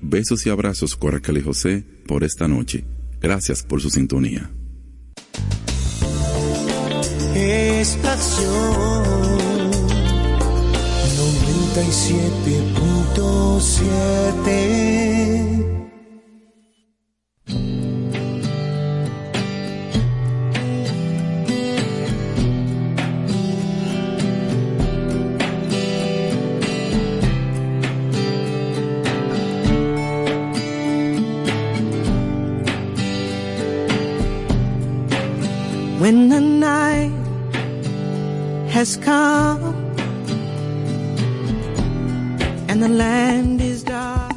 Besos y abrazos con Raquel y José por esta noche. Gracias por su sintonía. Estación 97.7. When the night has come and the land is dark,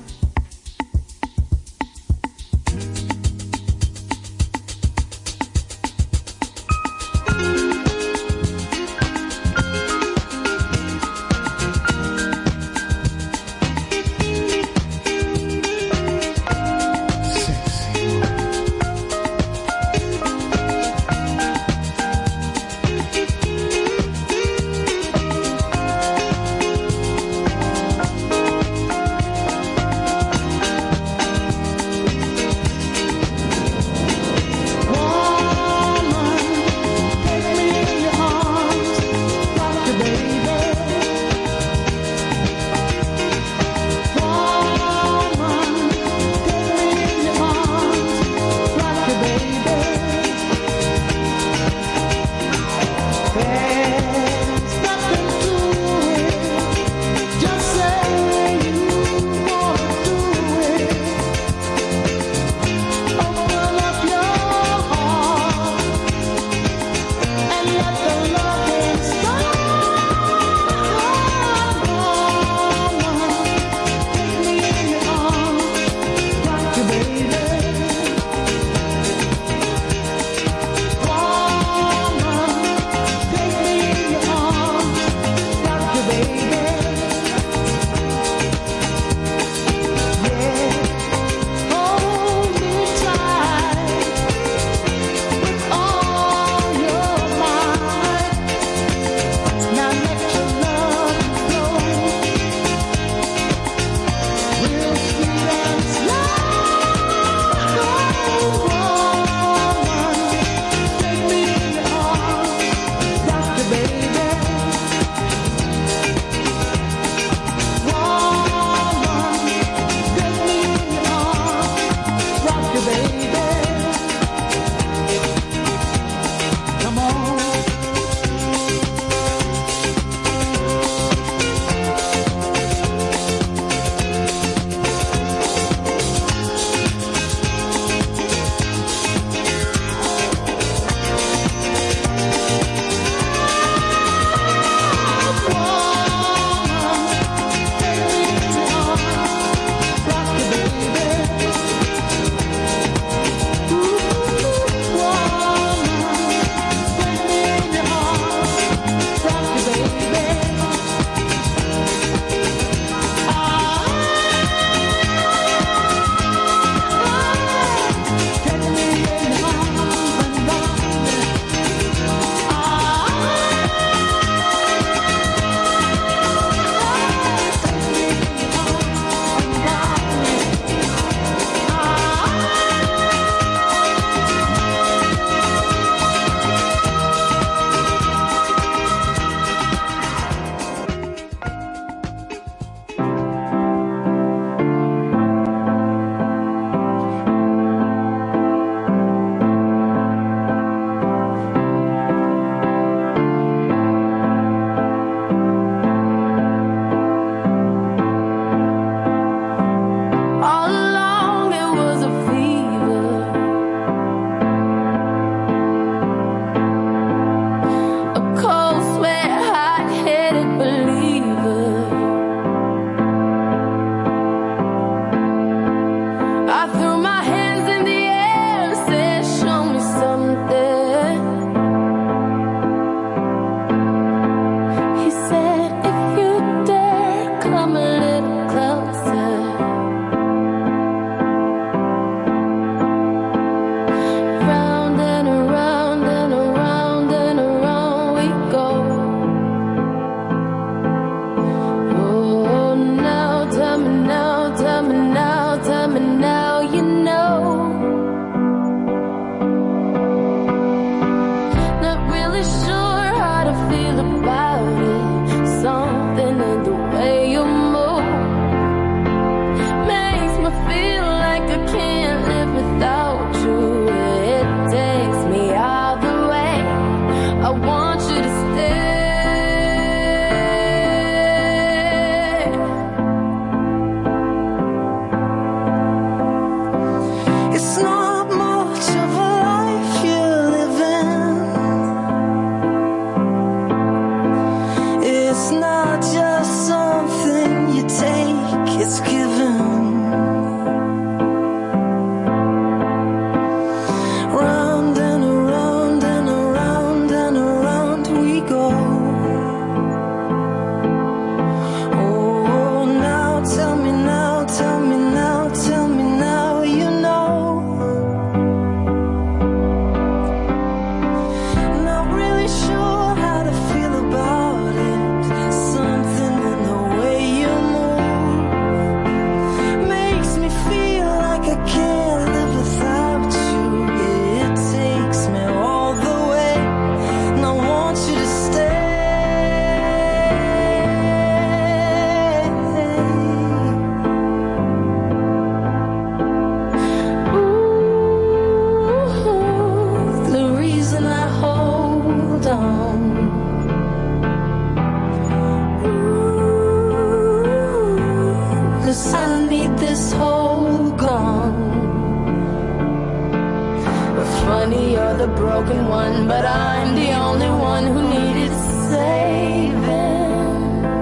the broken one, but I'm the only one who needed saving.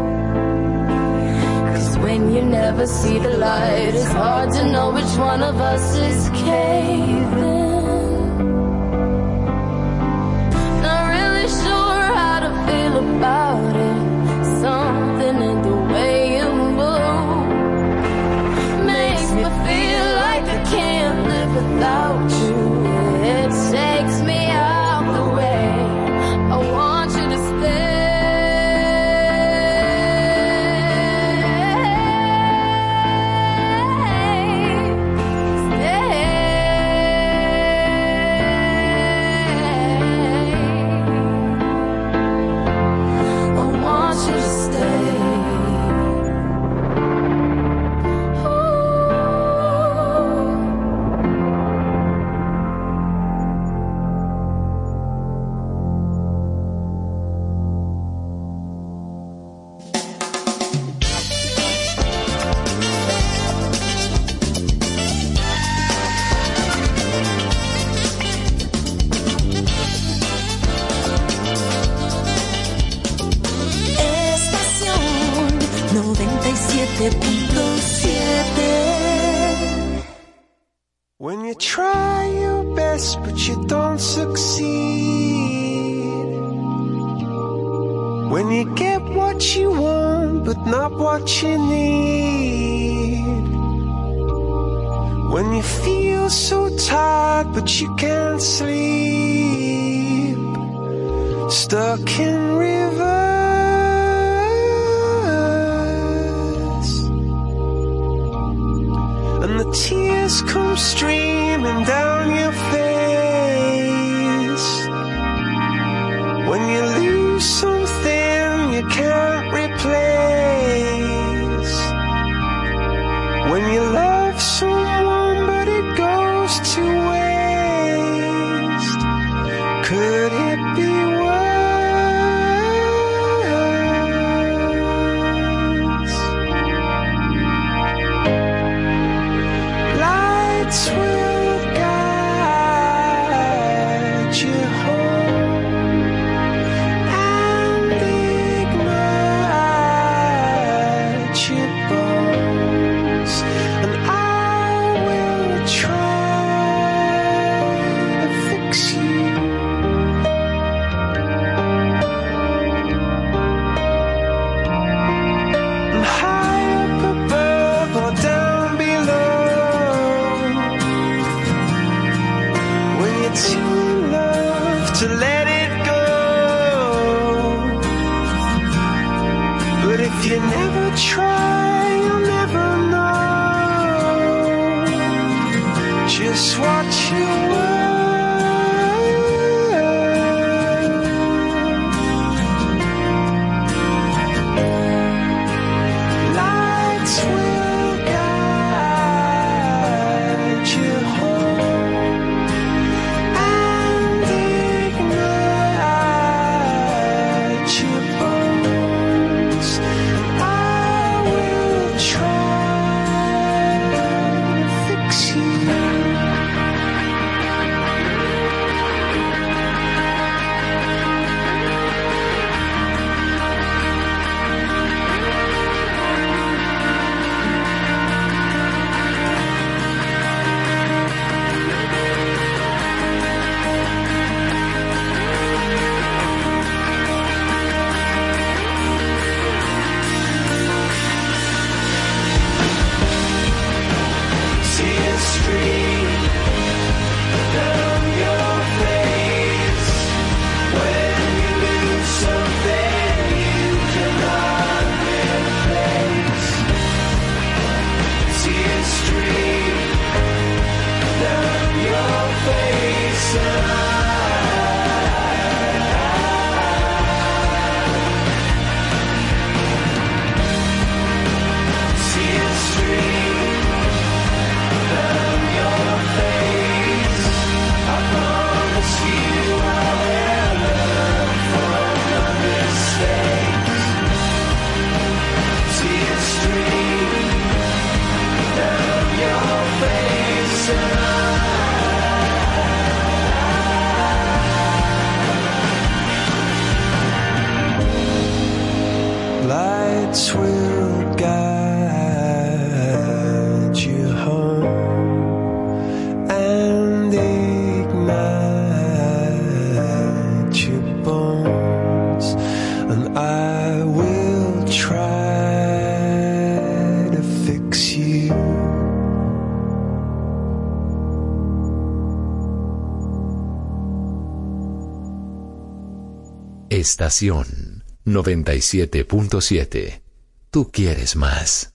'Cause when you never see the light, it's hard to know which one of us is caving. Not really sure how to feel about it. Something in the way you move makes me feel like I can't live without you. It takes me out the way. I want you to stay. When you try your best but you don't succeed, when you get what you want but not what you need, when you feel so tired but you can't sleep, stuck in reverse, and the tears come streaming down your face. When you lose something you can't replace. When you love someone but it goes to waste. Could it be worse? Lights will guide you home and ignite your bones, and I will try to fix you. And high up above or down below, when you're too in love to let it go. But if you never try, you'll never know just what you were. Lights will guide you home and ignite your bones, and I will try to fix you. Tears stream down your face when you lose something you cannot replace. Tears stream down your face, tears stream down your face. I promise you I will learn from my mistakes. Tears stream down your face, and I Estación 97.7. Tú quieres más.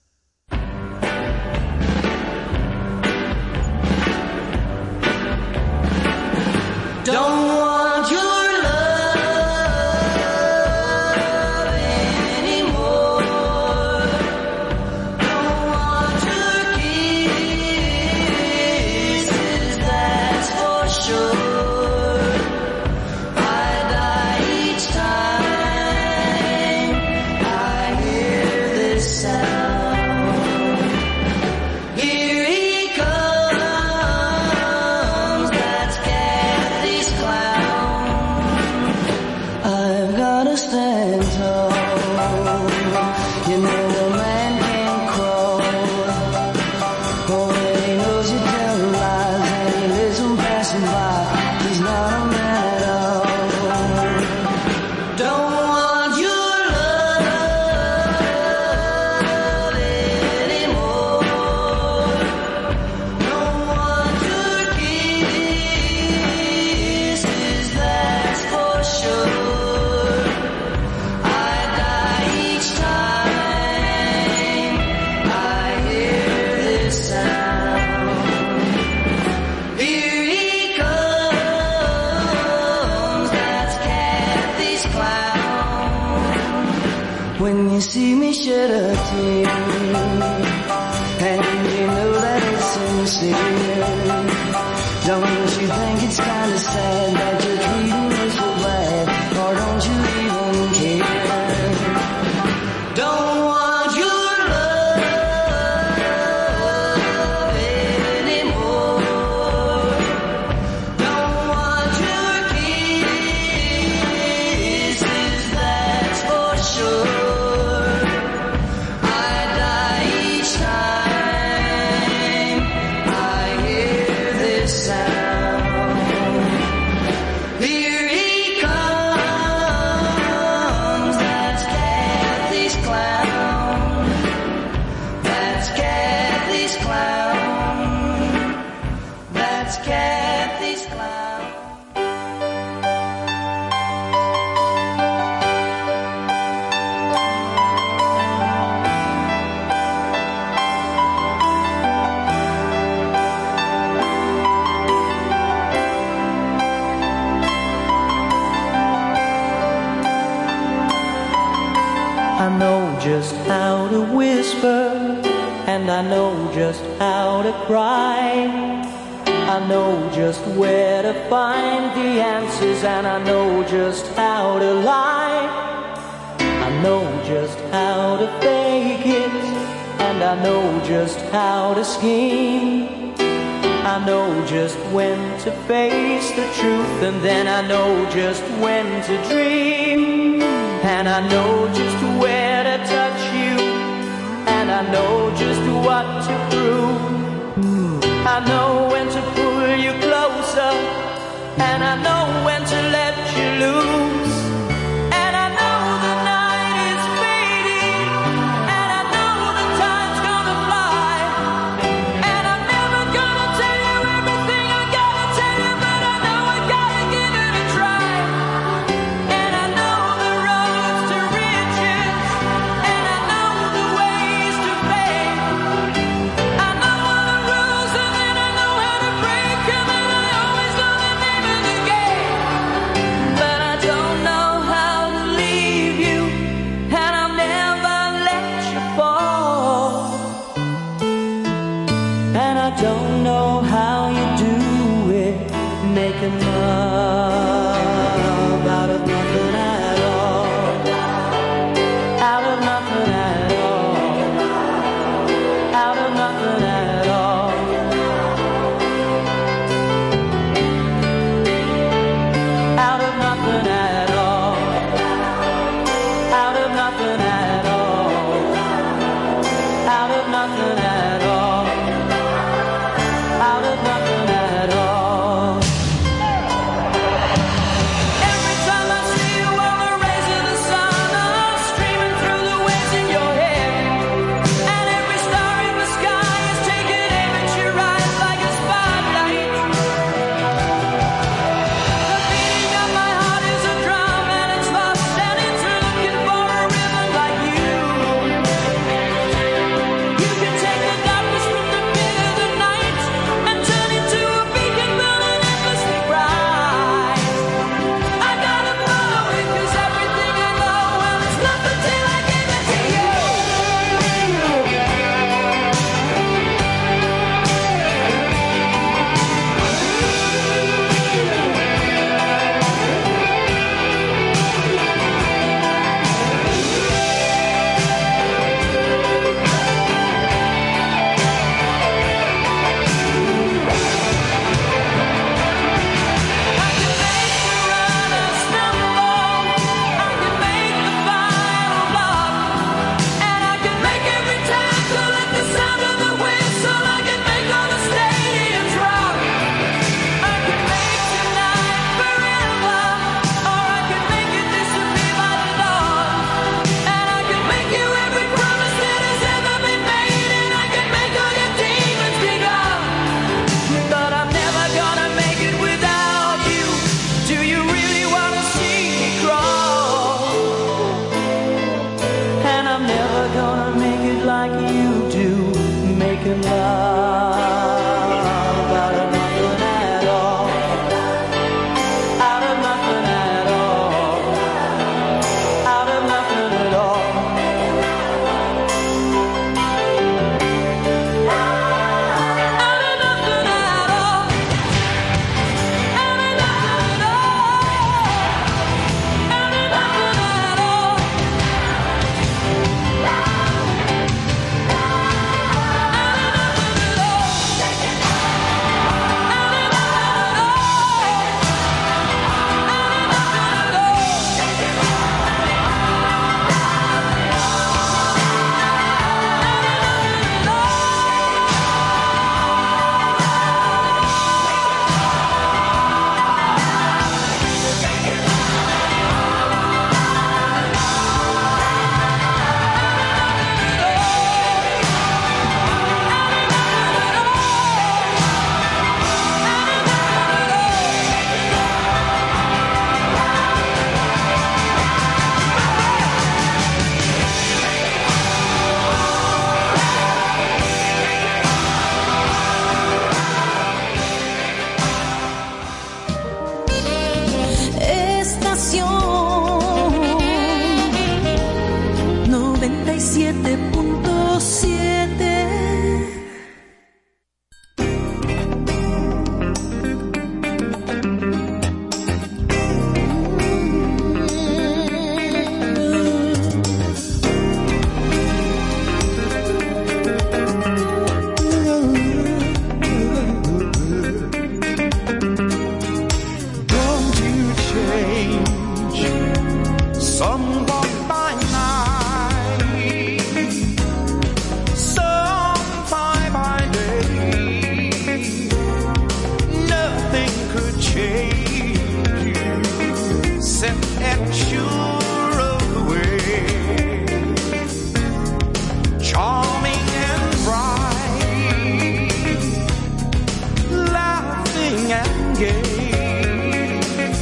gay.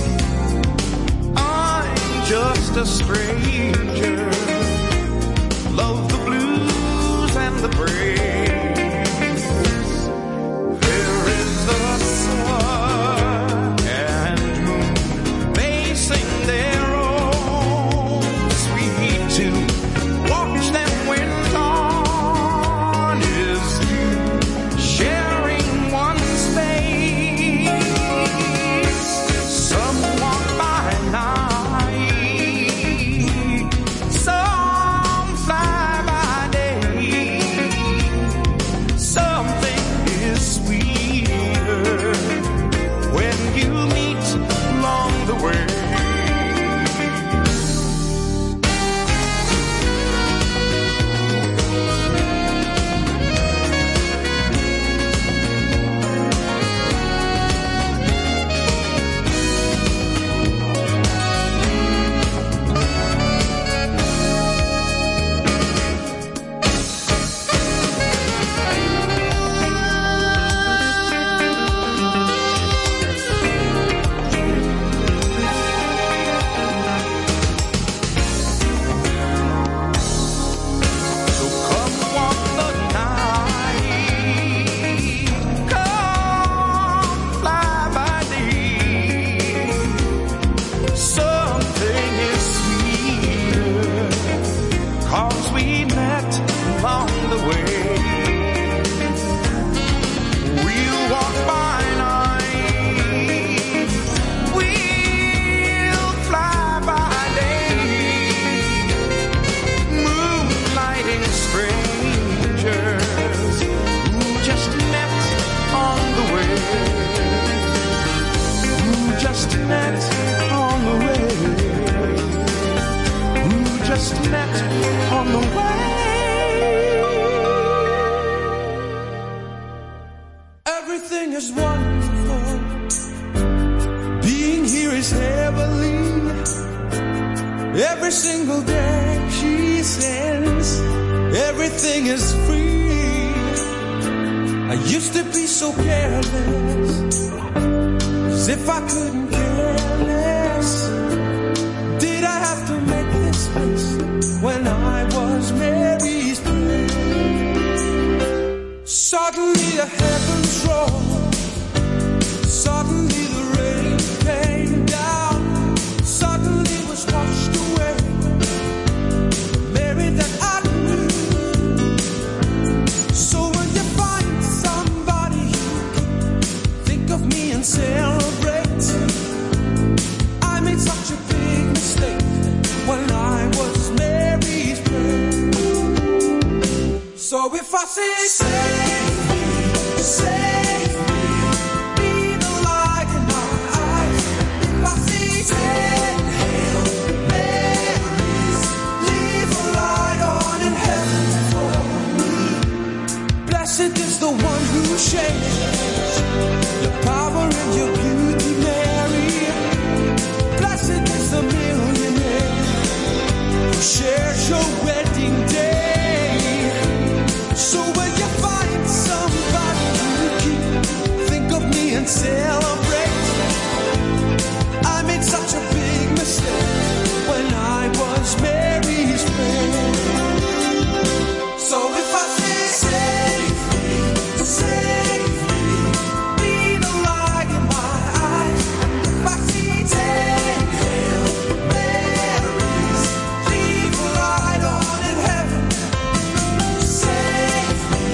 I'm just a stranger. Love the blues and the praise. There is the sun and moon. They sing their own sweet tune. Watch them when dawn is through, sharing one space. Some walk by night, some fly by day. Something is sweeter when you meet along the way. So come walk the night, come fly by day. Something is sweeter, 'cause we met along the way. We'll walk by night, we'll fly by day. Moonlighting strangers who just met on the way. Who just met on the way. Who just met on the way. Everything is wonderful. Being here is heavenly. Every single day she sends, everything is free. I used to be so careless, as if I couldn't care less. Did I have to make this place when I was Mary's friend? Suddenly the heavens rolled, suddenly the rain came down, suddenly was washed away. Mary that I knew. So when you find somebody, think of me and celebrate. I made such a big mistake when I was Mary's friend. So if I say, save me, be the light in my eyes. If I say, 10 Hail Marys, leave a light on in heaven for me. Blessed is the one who shares your power and your beauty, Mary. Blessed is the millionaire who shares your wedding day. So when you find somebody you keep, think of me and celebrate. I made such a big mistake when I was Mary's friend. So if I say, save me, be the light in my eyes. If I see 10 Hail Marys, leave a light on in heaven. Save me,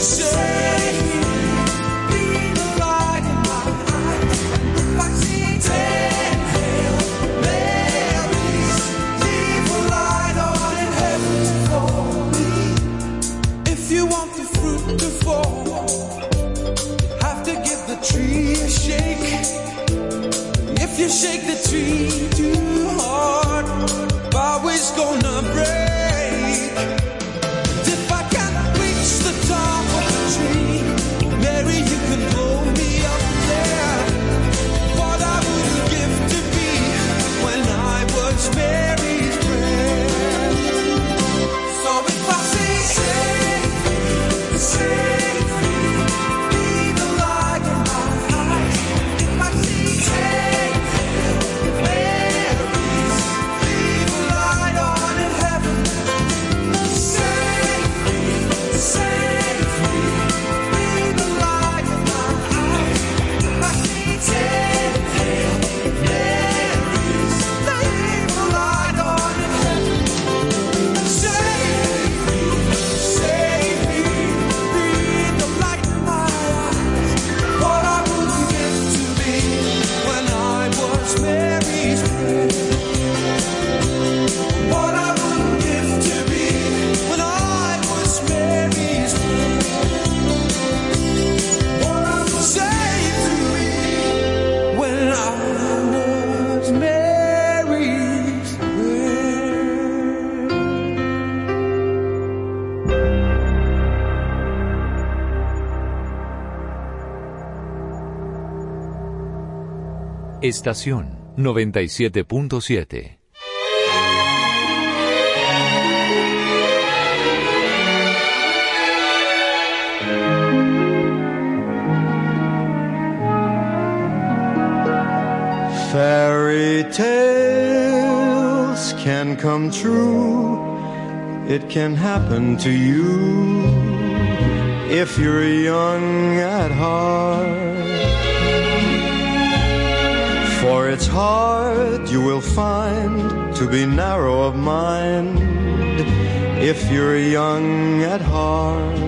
be the light in my eyes. If I see 10 Hail Marys, leave a light on in heaven for me. If you want the fruit to fall, you have to give the tree a shake. If you shake the tree too hard, bough is gonna break. And if I can't reach the top of the tree, Mary, you can blow me up there. What I wouldn't give to be when I was Mary's friend. So if I say, save me, be the light in my eyes. If I Estación 97.7. Fairy tales can come true. It can happen to you if you're young at heart. For it's hard, you will find, to be narrow of mind if you're young at heart.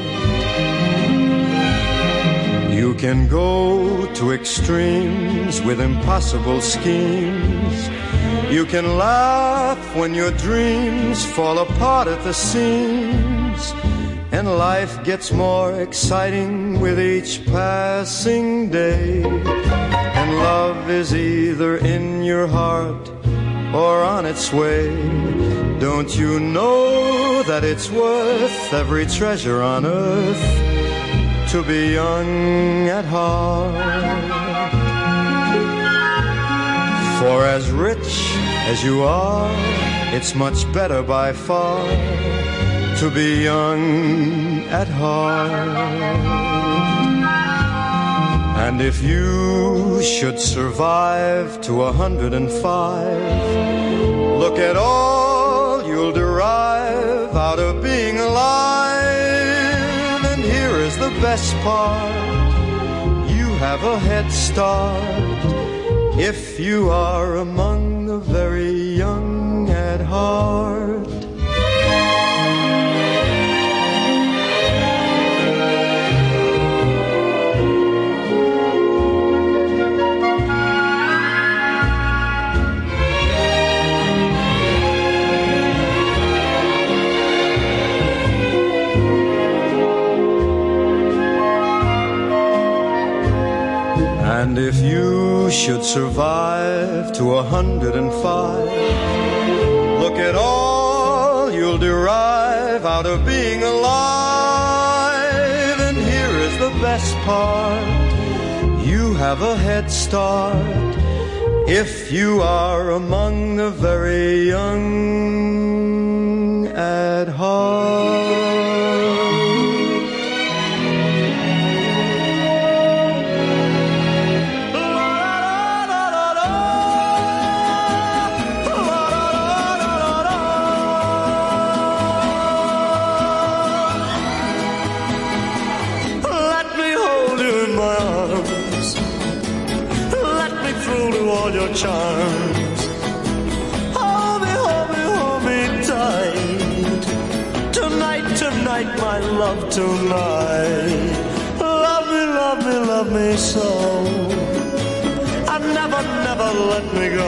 You can go to extremes with impossible schemes. You can laugh when your dreams fall apart at the seams. And life gets more exciting with each passing day. And love is either in your heart or on its way. Don't you know that it's worth every treasure on earth to be young at heart? For as rich as you are, it's much better by far to be young at heart. And if you should survive to 105, look at all you'll derive out of being alive. And here is the best part, you have a head start if you are among the very young at heart. And if you should survive to 105, look at all you'll derive out of being alive. And here is the best part, you have a head start if you are among the very young at heart. Charms. Hold me, hold me, hold me tight. Tonight, tonight, my love, tonight. Love me, love me, love me so. And never, never let me go.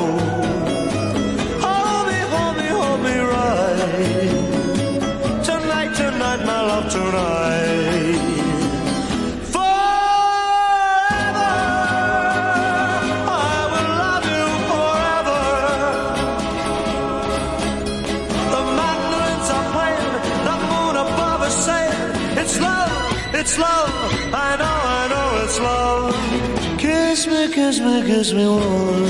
Hold me, hold me, hold me right. Tonight, tonight, my love, tonight. It's love, I know it's love. Kiss me, kiss me, kiss me warm.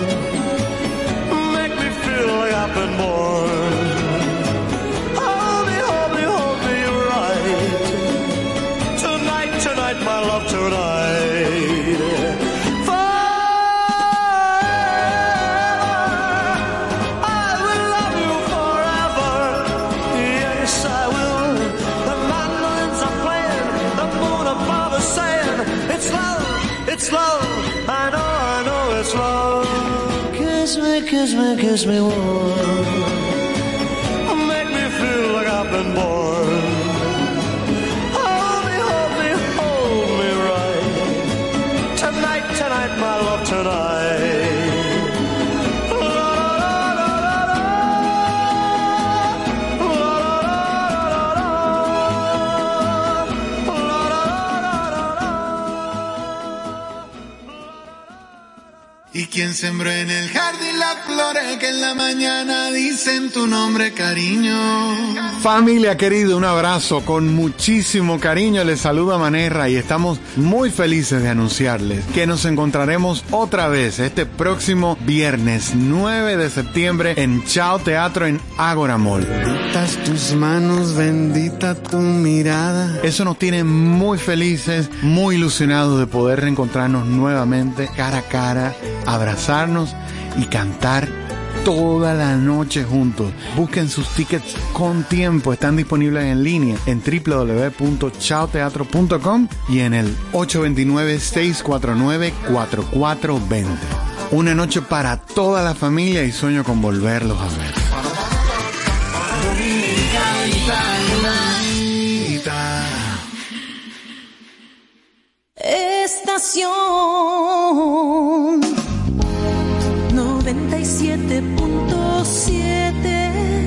Make me feel like I've been born. Hold me, hold me, hold me right. Tonight, tonight, my love, tonight. It's love, I know it's love. Kiss me, kiss me, kiss me warm. Make me feel like I've been born. Hold me, hold me, hold me right. Tonight, tonight, my love, tonight. Y quien sembró en el jardín las flores que en la mañana dicen tu nombre, cariño. Familia querida, un abrazo con muchísimo cariño. Les saluda Manerra y estamos muy felices de anunciarles que nos encontraremos otra vez este próximo viernes 9 de septiembre en Chao Teatro en Ágora Mall. Benditas tus manos, bendita tu mirada. Eso nos tiene muy felices, muy ilusionados de poder reencontrarnos nuevamente cara a cara, abrazarnos y cantar toda la noche juntos. Busquen sus tickets con tiempo, están disponibles en línea en www.chaoteatro.com y en el 829-649-4420. Una noche para toda la familia y sueño con volverlos a ver. Estación 97.7.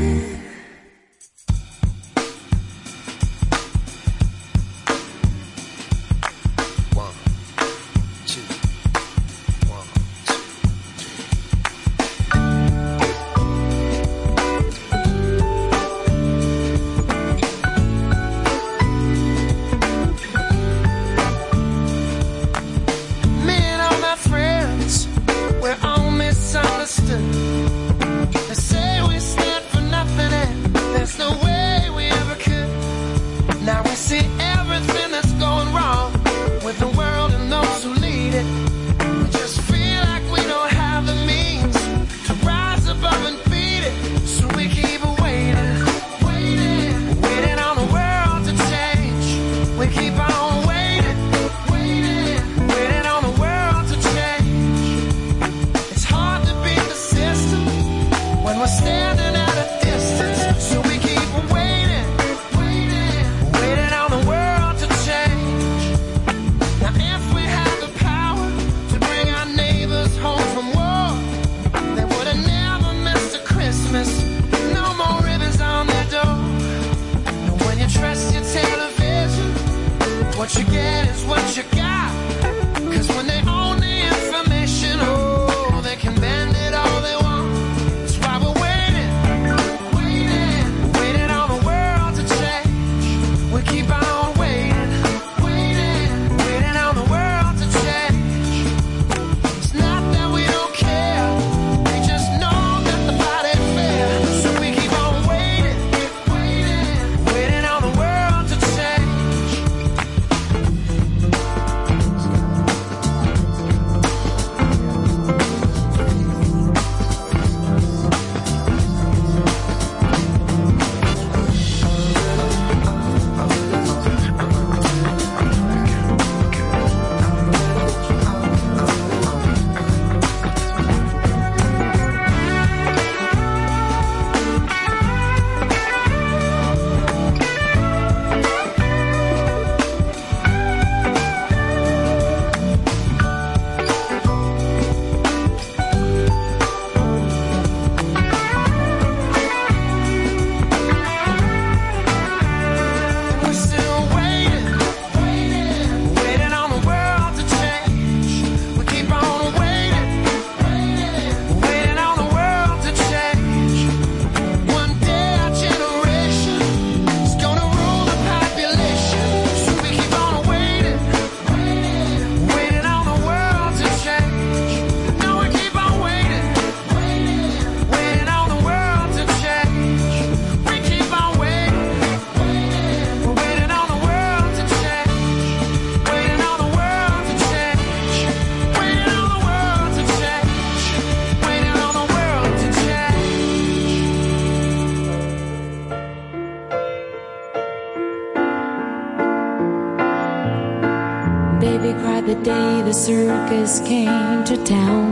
Baby cried the day the circus came to town,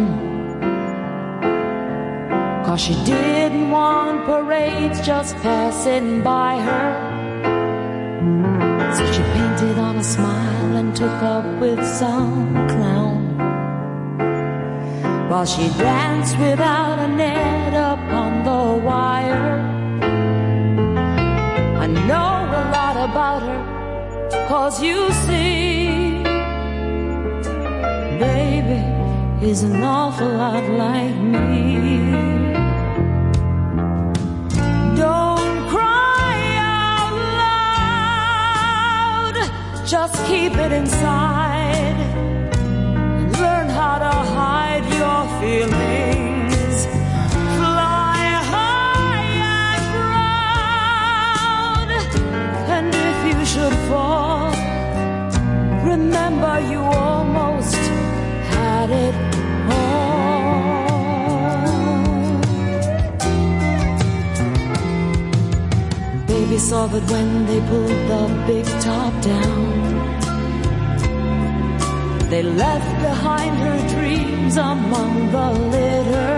'cause she didn't want parades just passing by her. So she painted on a smile and took up with some clown, while she danced without a net upon the wire. I know a lot about her, 'cause you see, baby, is an awful lot like me. Don't cry out loud, just keep it inside. Learn how to hide your feelings. Fly high and proud, and if you should fall, remember you almost had it all. Baby saw that when they pulled the big top down, they left behind her dreams among the litter.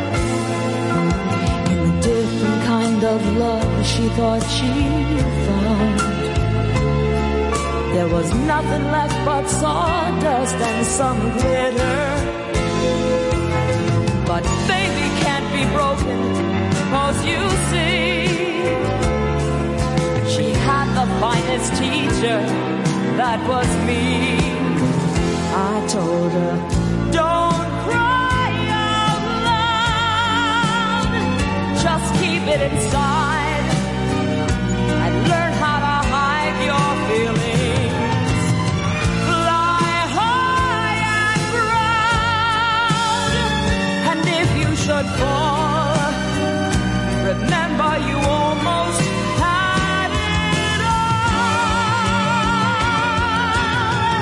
In the different kind of love she thought she found, there was nothing left but sawdust and some glitter. But baby can't be broken, 'cause you see, she had the finest teacher, that was me. I told her, don't cry out loud, just keep it inside and learn how to hide your feelings. Fly high and proud, and if you should fall, remember you almost had it all.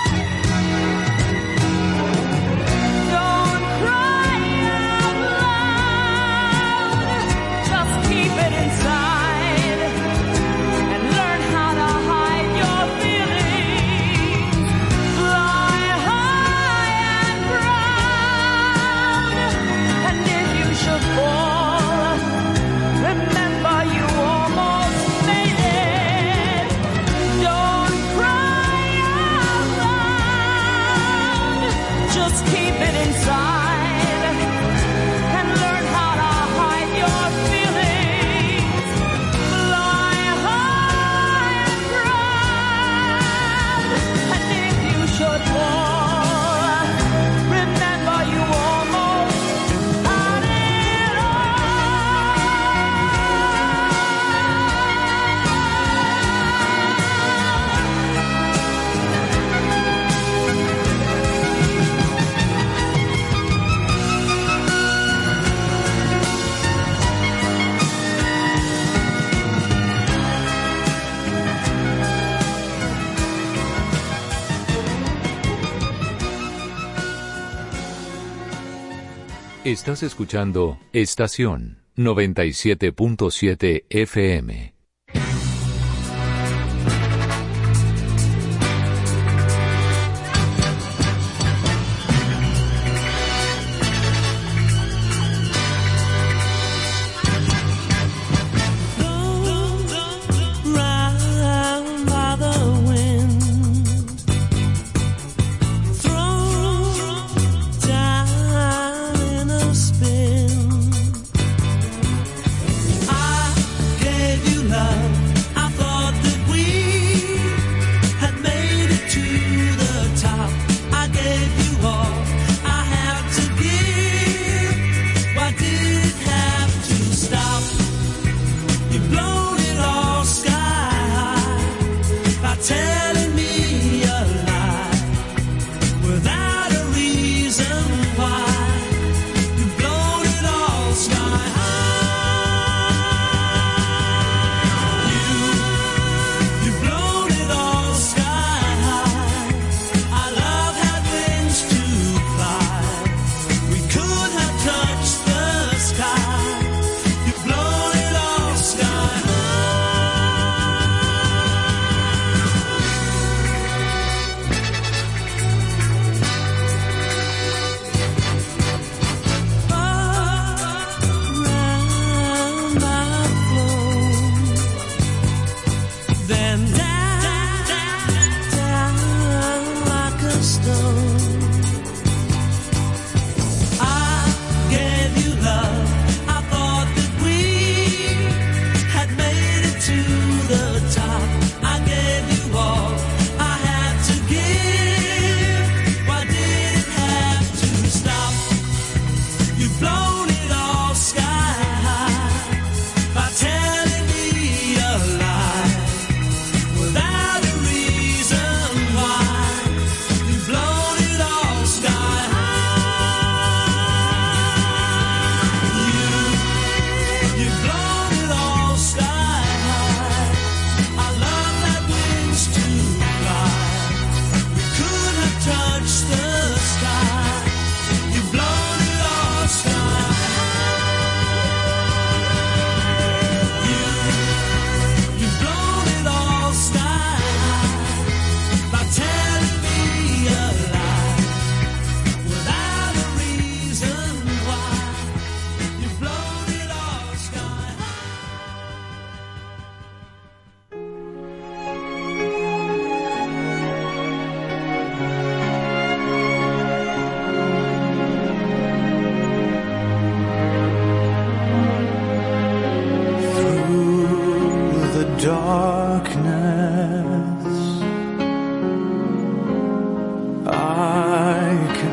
Don't cry out loud, just keep it inside and learn how to hide your feelings. Fly high and proud, and if you should fall, remember you almost made it. Don't cry out loud, just keep it inside and learn how to hide your feelings. Fly high and proud, and if you should fall, remember you almost had it Estás escuchando Estación 97.7 FM. Round by the wind, thrown down in a spin. I gave you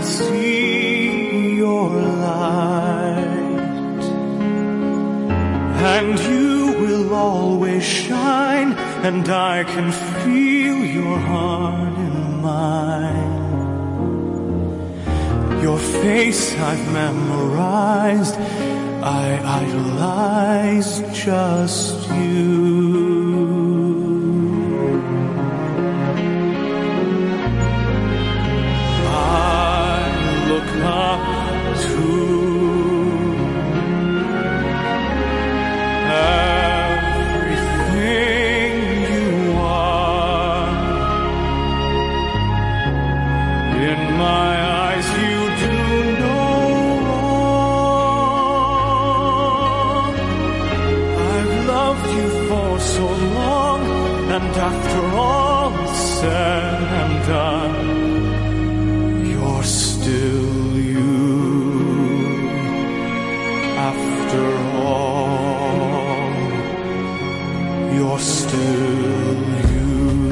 see your light, and you will always shine, and I can feel your heart in mine. Your face I've memorized, I idolize just you. Up to everything you are. In my eyes you do no wrong. I've loved you for so long, and after all is said and done, you're still after all, you're still you.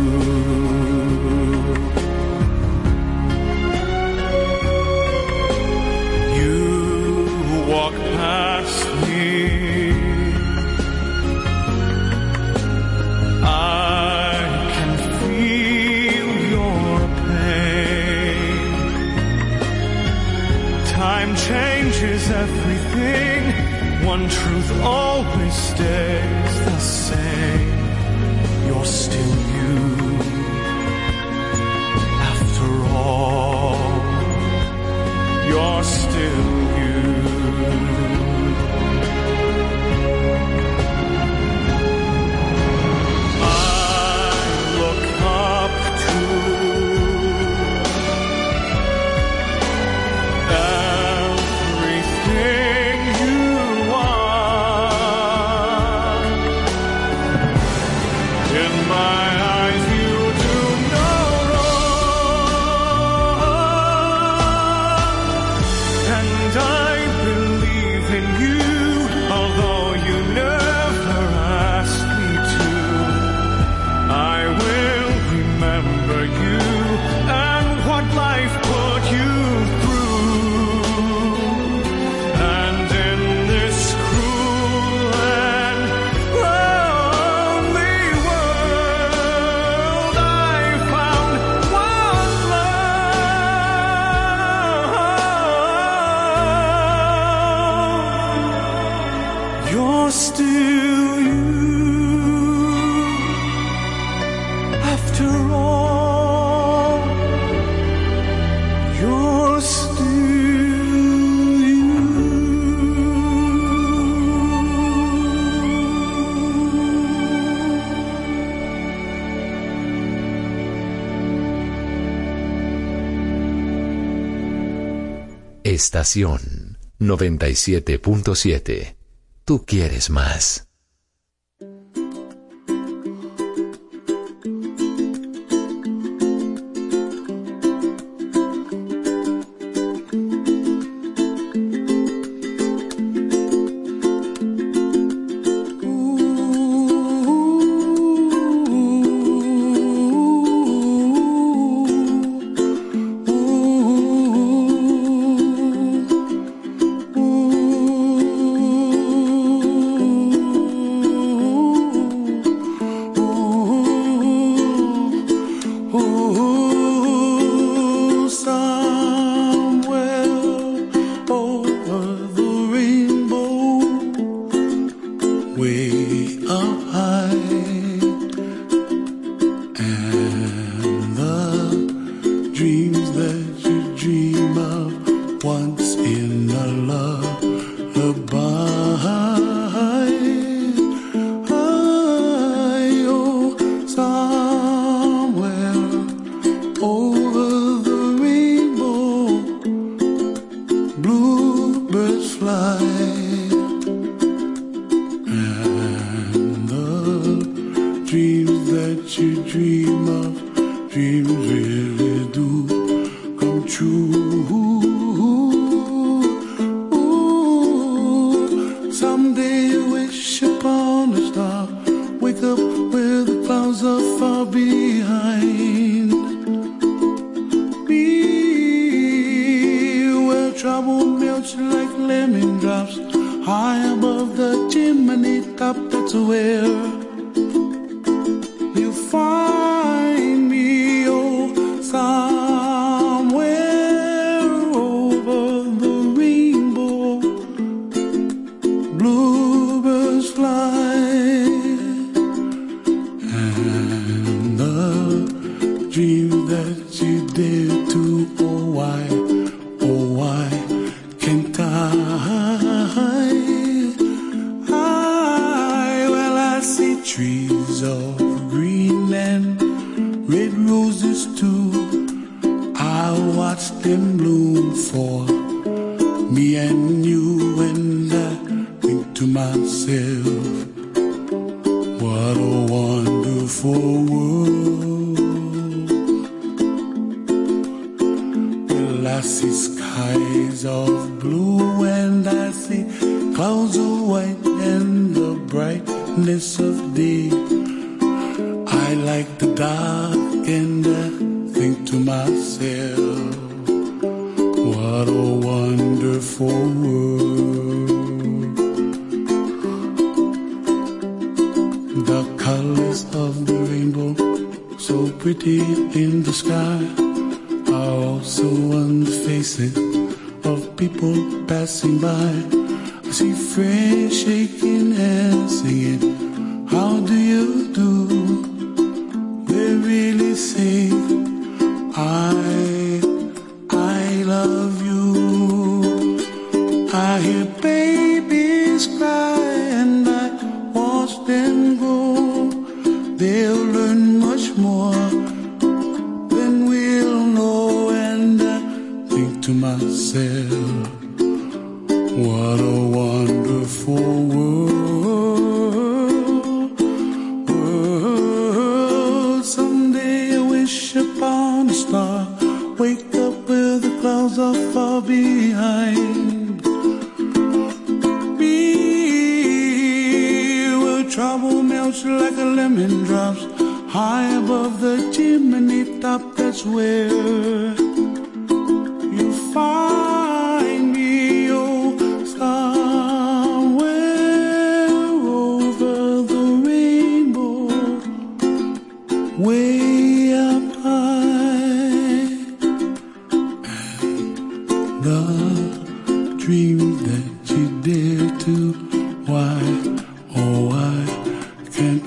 You walk past me, I can feel your pain. Time changes everything, one truth always stays the same. You're still you. After all, you're still you. I look up to everything you are. In my eyes you do no wrong, and I believe in you, although you never asked me to. I will remember you and what life put you through. And in this cruel and lonely world, I found one love. You're still you. After all, you're still you. Estación 97.7. Tú quieres más. melts like lemon drops high above the chimney top. That's where you find me, oh, somewhere over the rainbow. Bluebirds fly, and the dream that you did to, oh why can't well, I see trees of green and red roses too. I watch them bloom for me and you, and I think to myself, what a wonderful world. Well, I see skies of blue and I see clouds of white and the brightness of day. I like the dark and I think to myself, what a wonderful world. The colors of the rainbow, so pretty in the sky, are also on the faces of people passing by. I see friends shaking hands singing, how do you do? They really say, I love you. I hear babies cry and I watch them grow. They'll learn much more than we'll know, and I think to myself, what a wonderful world. Someday I wish upon a star, wake up where the clouds are far behind me, where trouble melts like a lemon drops high above the chimney top. That's where you find me, oh, somewhere over the rainbow, way up high. And the dream that you dare to, why, oh why can't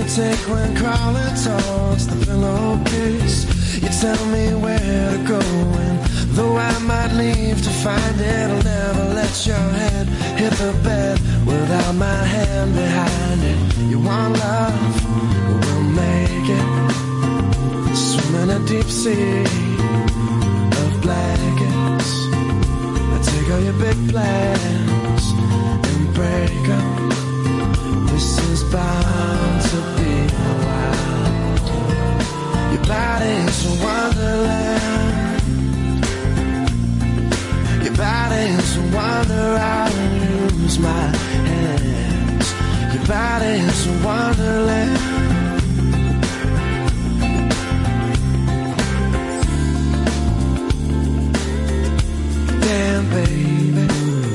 you take when crawling towards the pillowcase? You tell me where to go, and though I might leave to find it, I'll never let your head hit the bed without my hand behind it. You want love? We'll make it. Swim in a deep sea of blankets. Take all your big plans and break up. This is bound to be a while. Your body's a wonderland. Your body's a wonder. I'll use my hands. Your body's a wonderland. Damn, baby,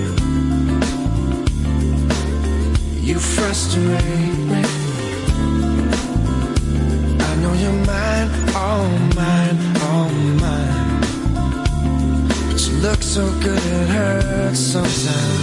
you frustrate me. I know you're mine, all mine, all mine. But you look so good it hurts sometimes.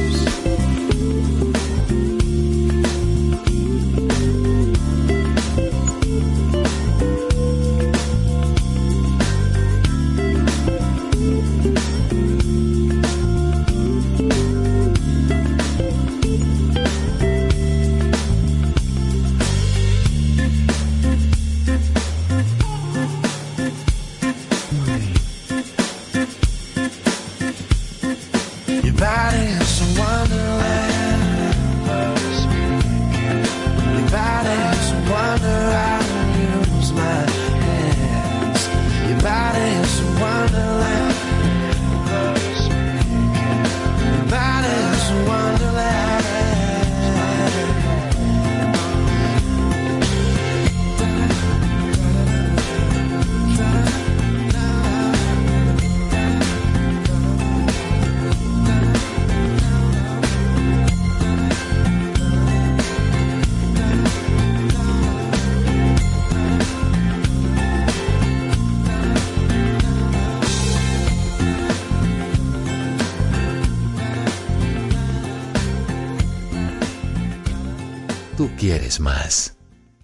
Tú quieres más.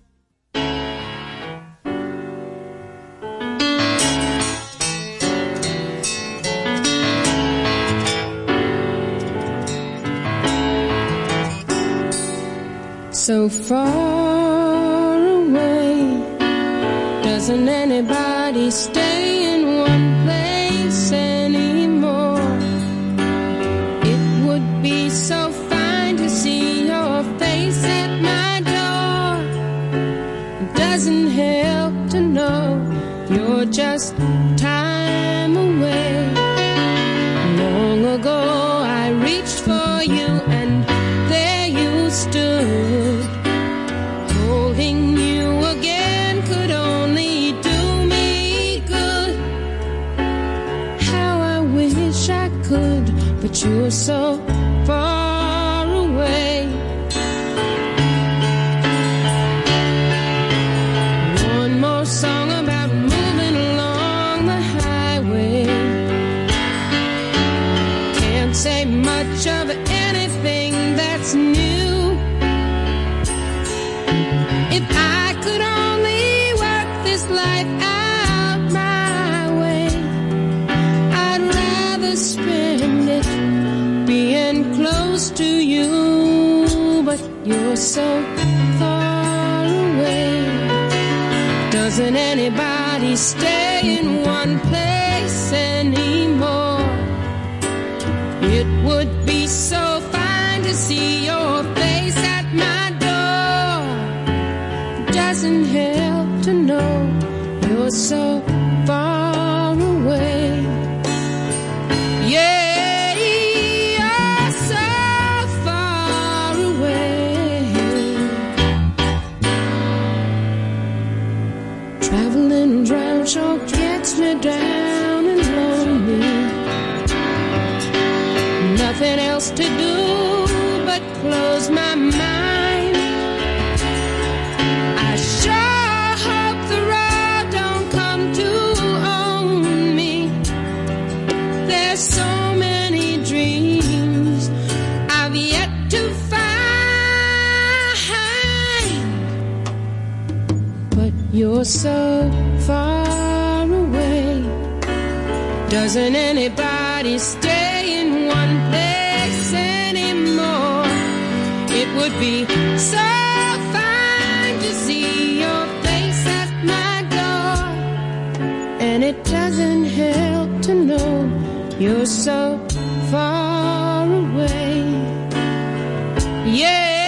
So far away, doesn't anybody stay in one place anymore? It would be so fine to see your face at my door. It doesn't help to know you're just time away. Long ago I reached for you and there you stood. Holding you again could only do me good. How I wish I could, but you're so far away. One more song about moving along the highway. Can't say much of anything that's new. If I could only work this life out my way, I'd rather spend it being close to you, but you're so far away. Doesn't anybody stay in one place anymore? It would be so fine to see your face at my door. Doesn't help to know you're so far away. Yeah, you're so far away. Traveling around sure gets me down and lonely. Nothing else to do but close my mind. I sure hope the road don't come to own me. There's so many dreams I've yet to find. but you're so far away. Doesn't anybody stay in one place anymore? It would be so fine to see your face at my door. And it doesn't help to know you're so far away. Yeah.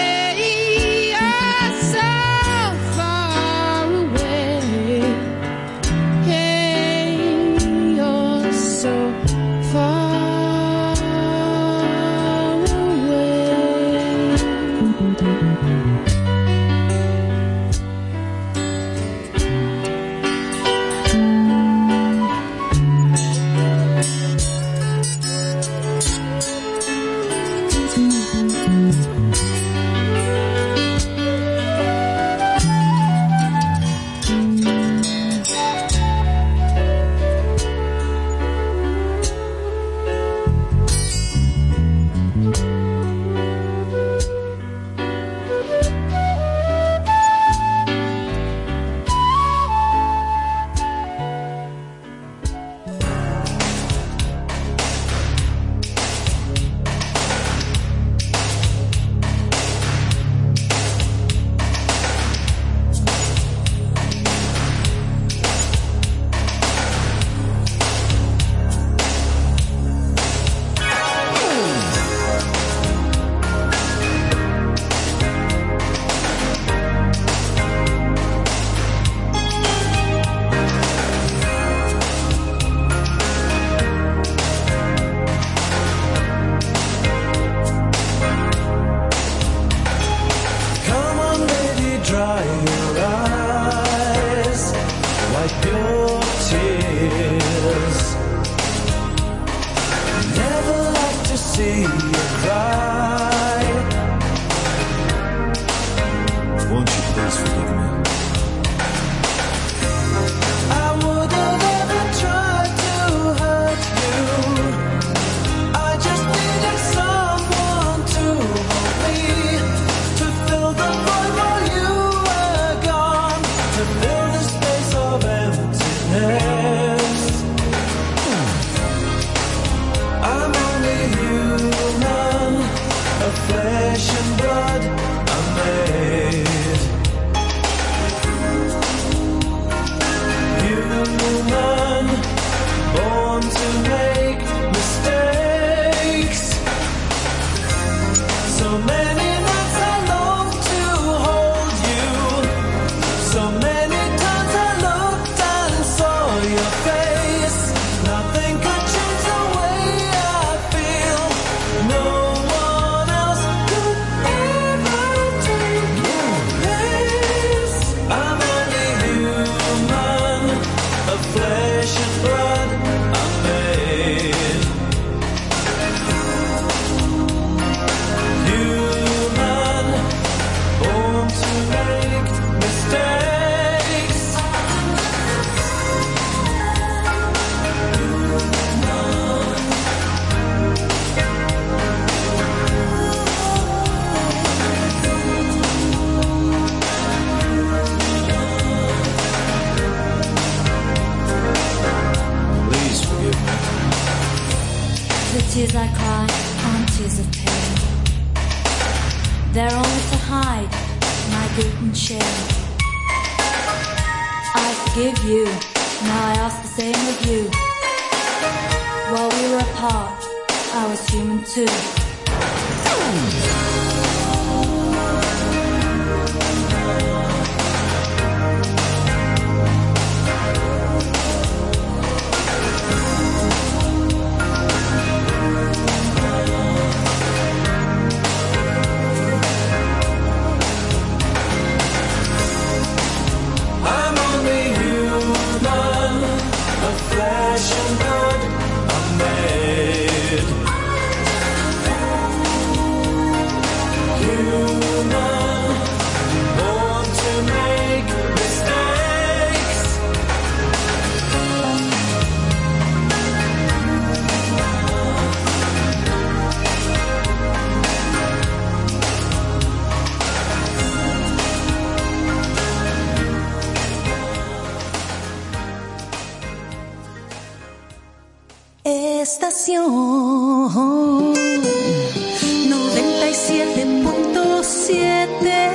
Tears I cry aren't tears of pain. They're only to hide my guilt and shame. I forgive you, now I ask the same of you. While we were apart, I was human too. estación 97.7.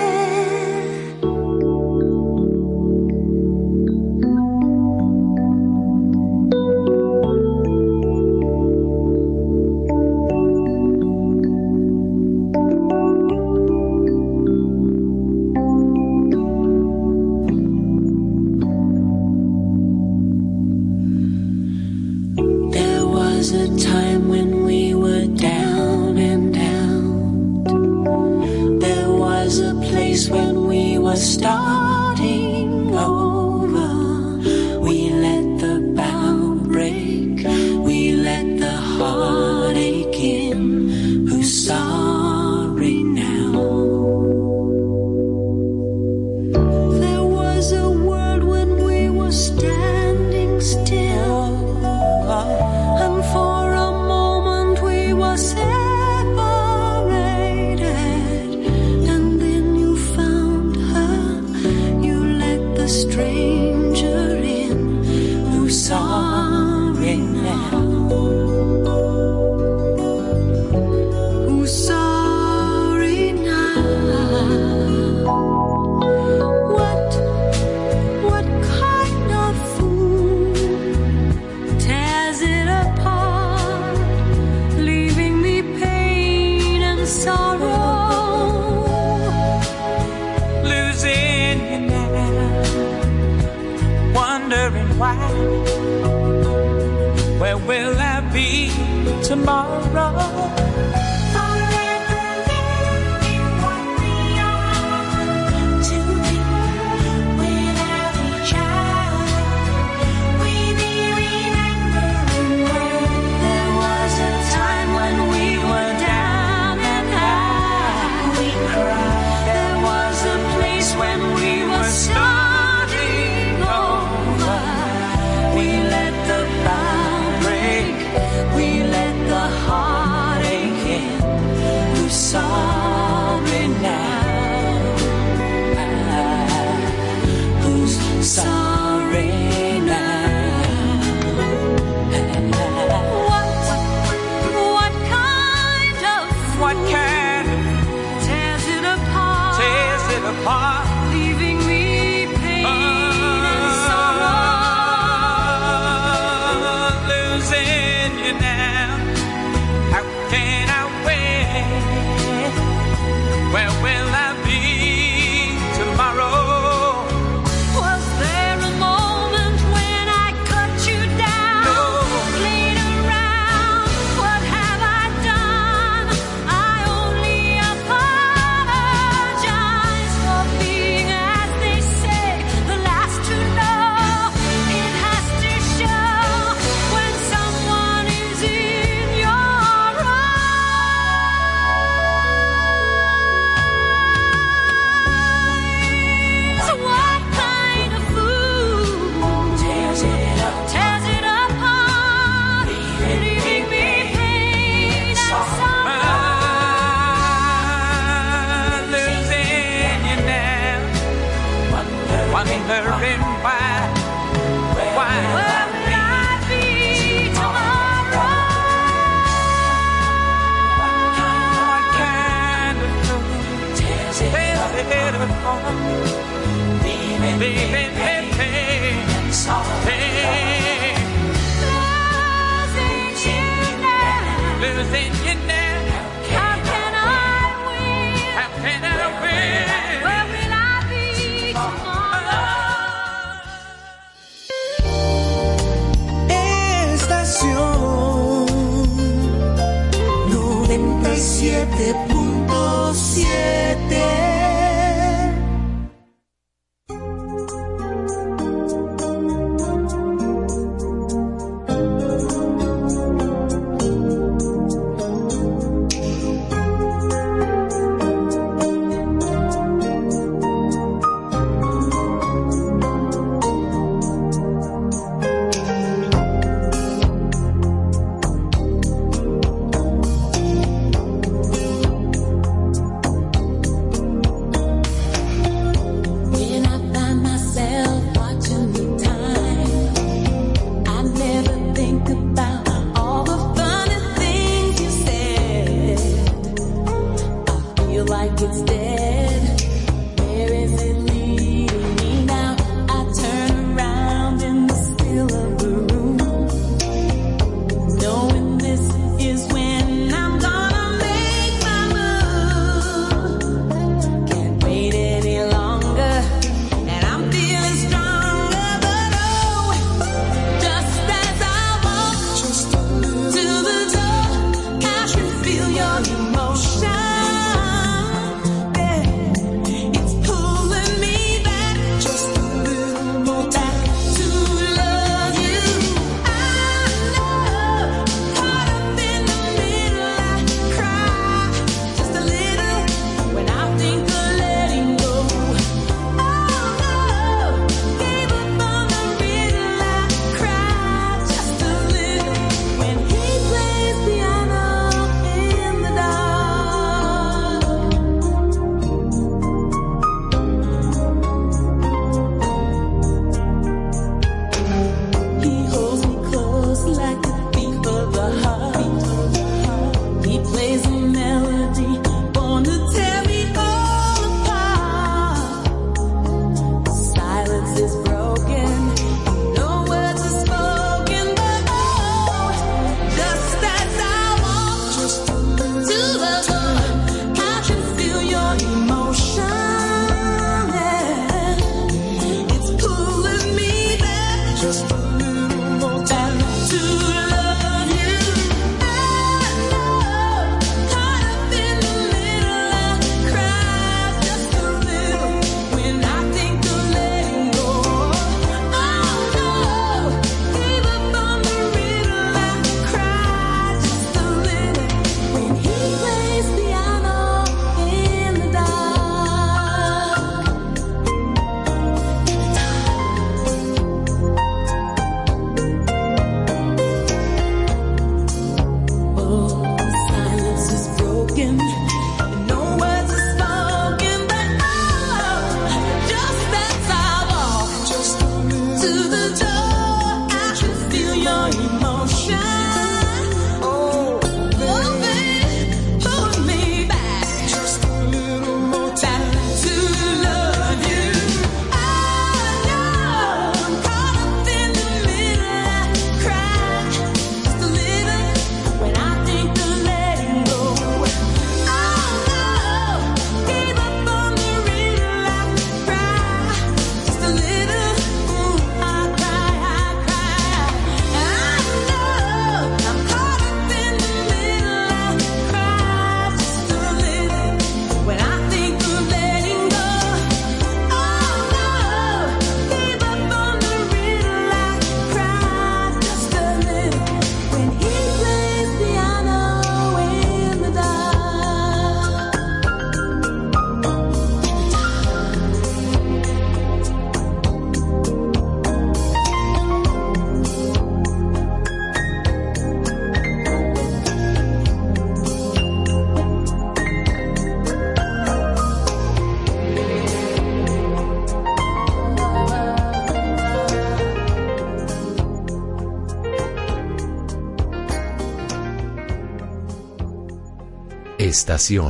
Estación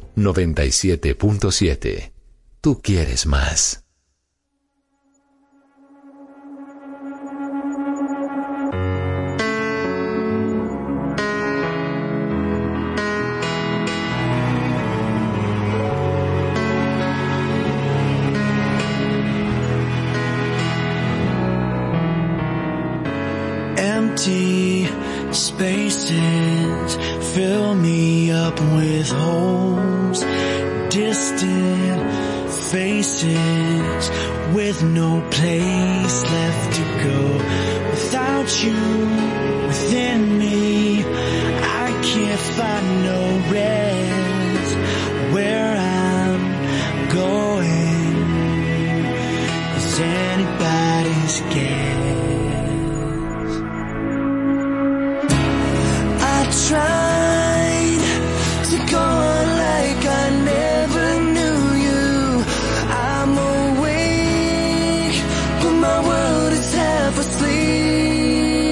97.7. Tú quieres más. Empty spaces fill me up with holes, distant faces with no place left to go. Without you within me, I can't find no rest where I'm going. Is anybody's guess? Tried to go on like I never knew you. I'm awake, but my world is half asleep.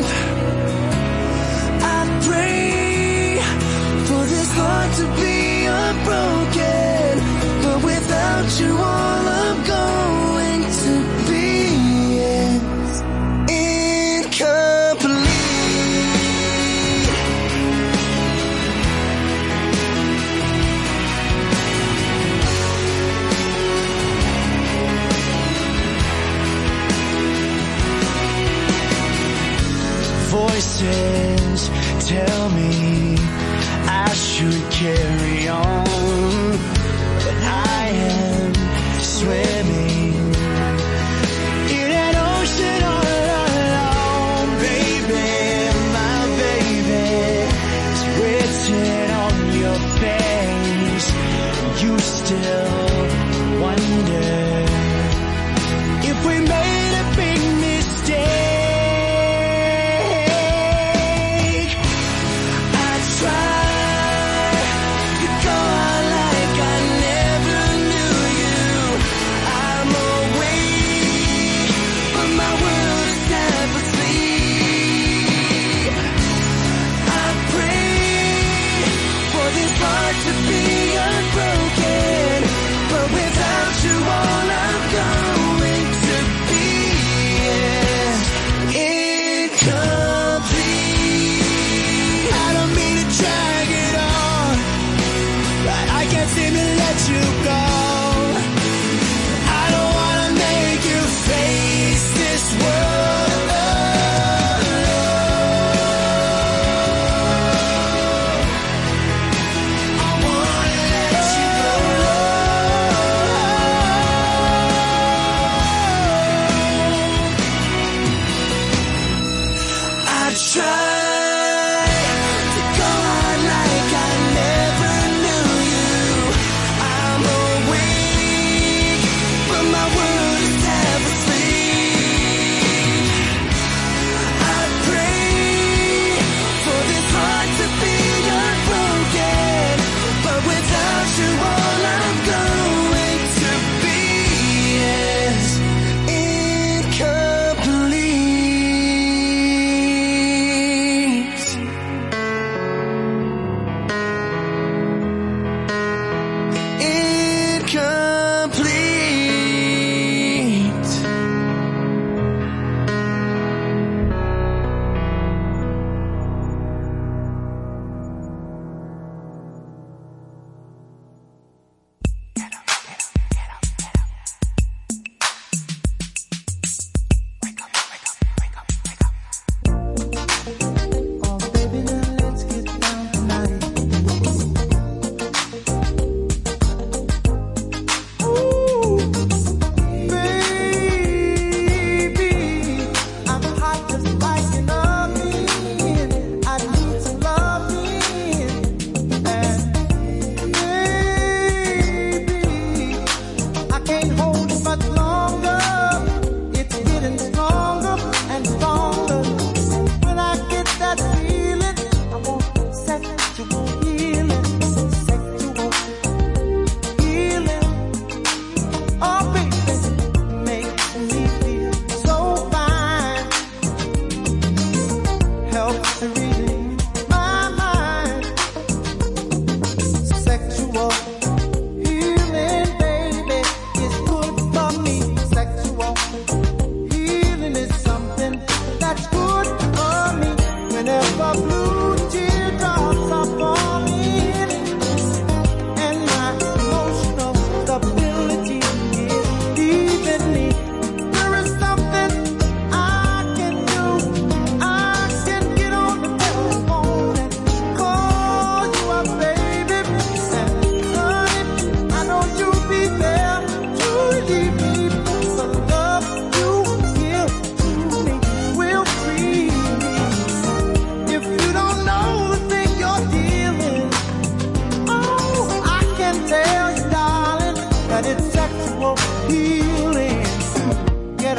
I pray for this heart to be unbroken, but without you all I'm going to be is incomplete. Voices tell me I should carry on, but I am swimming in an ocean all alone. Baby, my baby, it's written on your face. You still wonder if we made a big mistake. Try to go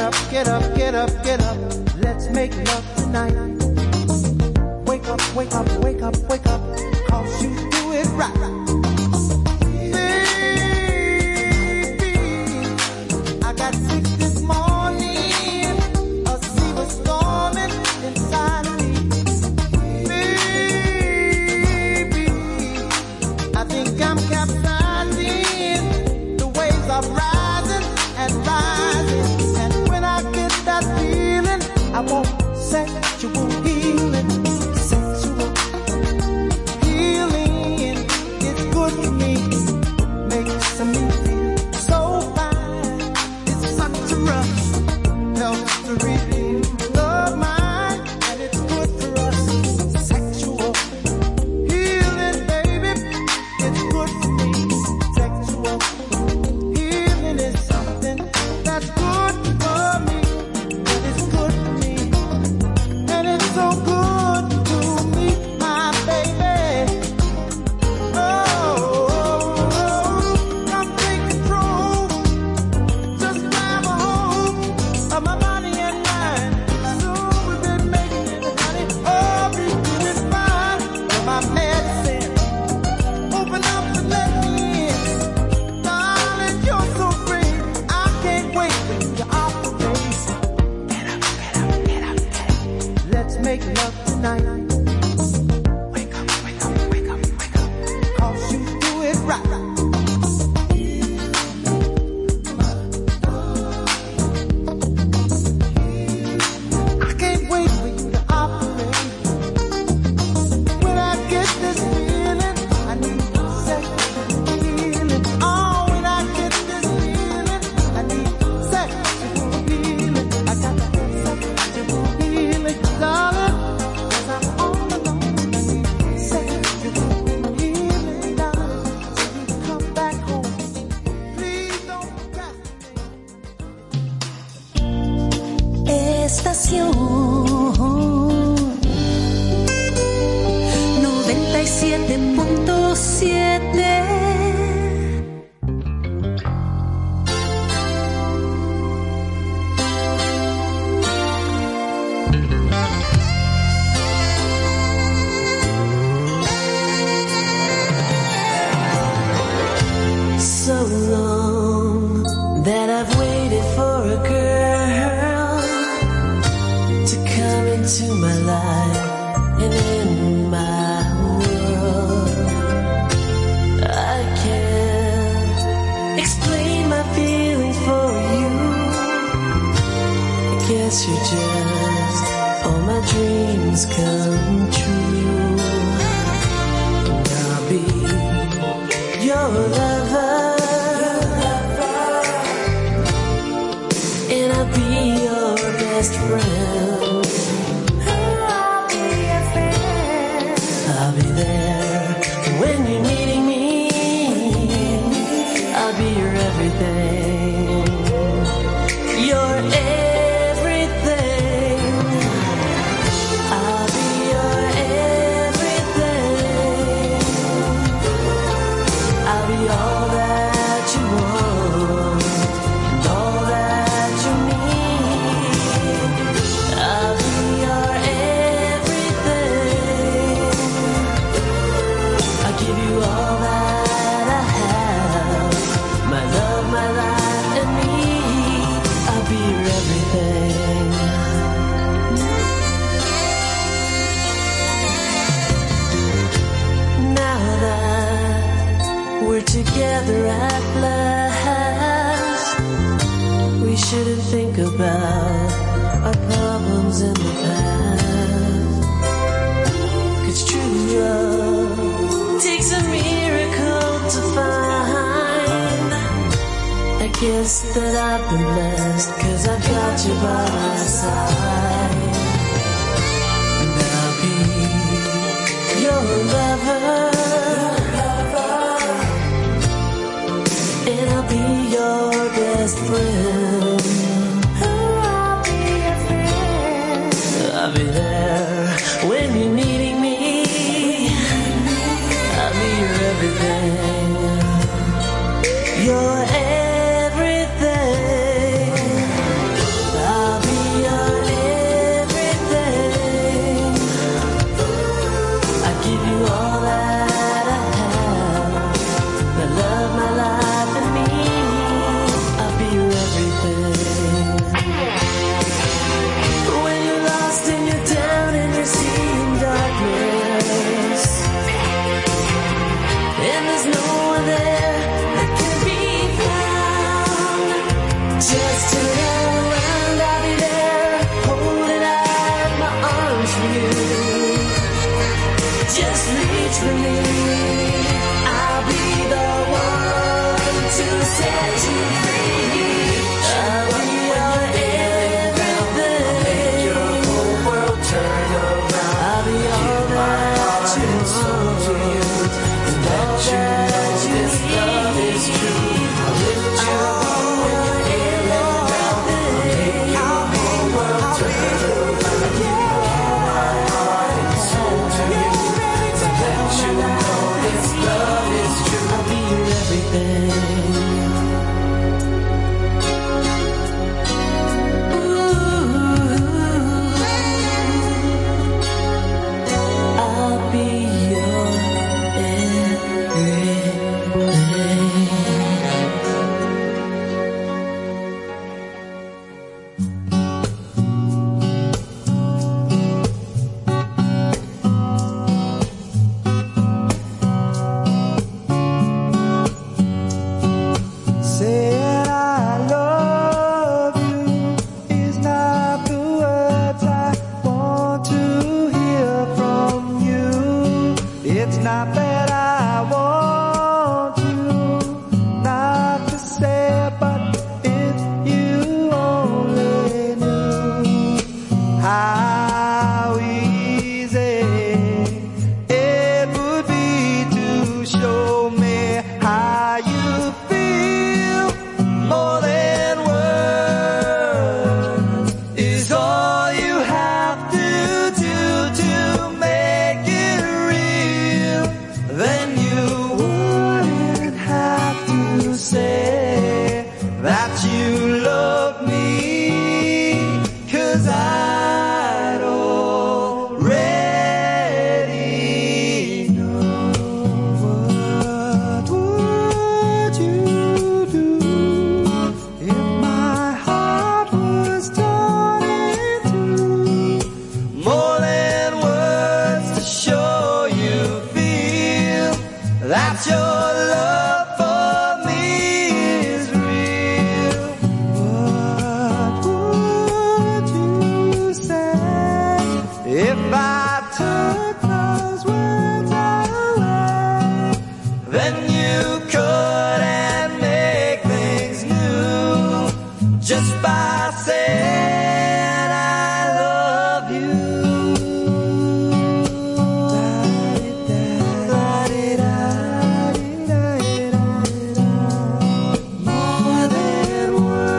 up, get up, get up, get up. Let's make love tonight. Wake up, wake up, wake up, wake up. 'Cause you do it right. Baby, I got sick this morning. A sea was storming inside of me. Baby, I think I'm capsizing. The waves are rising and rising. And when I get that feeling, I want sexual healing. Sexual healing is good for me. Makes me feel so fine. It's such a rush. Helps to redeem the mind. And it's good for us. Sexual healing, baby. It's good for me. Sexual healing is something that's good for me. And it's good for me. And it's so good to me, my baby. Come take control. Just grab a hold of my body and mind. Soon we'll be making it, honey. Oh, be doing fine. You're my medicine. Open up and let me in. Darling, you're so great. I can't wait when you're off the base. Get up, get up, get up, get up. Let's make love tonight. Wake up, wake up, wake up, wake up. 'Cause you do it right. I can't wait for you to operate. When I get this feeling, I need sexual healing. Oh, when I get this feeling, I need sexual healing. I got sexual healing, darling. 'Cause I'm all alone. I need sexual healing, darling. So you come back home. Please don't procrastinate. Estación 97.7. So long that I've waited for a girl to come into my life and in my world. I can't explain my feelings for you. I guess you're just all my dreams come true. And I'll be your lover. And I'll be your best friend. I'll be your friend. I'll be there when you're needing me. I'll be your everything. Your everything. I'll be your everything. I'll be all that you want and all that you need. I'll be your everything. I'll give you all that I have, my love, my life, and me. I'll be your everything. Now that we're together at last, we shouldn't think about our problems in the past. 'Cause true love takes a miracle to find. I guess that I've been blessed 'cause I've got you by my side. And I'll be your lover. And I'll be your best friend. I'll be your friend. I'll be there when you're needing me. I'll be your everything. Your everything. Just turn around, I'll be there, holding out my arms for you. Just reach for me, I'll be the one to set you free. I'll be your everything. I'll make your whole world turn around. I'll be all that you want to you, and all that this love is true. I'll lift you up when you're ill and down. I'll make your whole world turn around. I'll give all my heart and soul to you, to let you know this love is true. I'll be your everything. I'll be your Saying I love you is not the words I want to hear from you. It's not that I want you not to say, but if you only knew how easy it would be to show me how you feel. More than words is all you have to do to make it real. Then you wouldn't have to say that you love me, 'cause I'd already know. What would you do if my heart was torn in two? More than words to show you feel that your love for me is real. What would you say if I took those words away? Then you couldn't make things new just by saying I love you. More than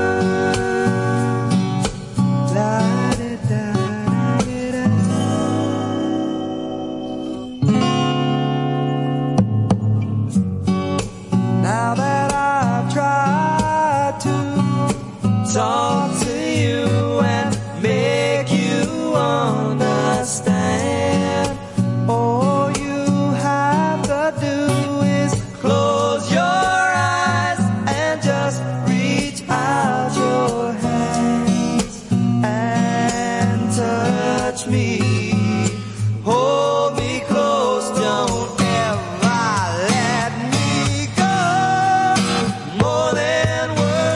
Now that I've tried to talk to you and make you understand, all you have to do is close your eyes and just reach out your hands and touch me. Hold me close, don't ever let me go. More than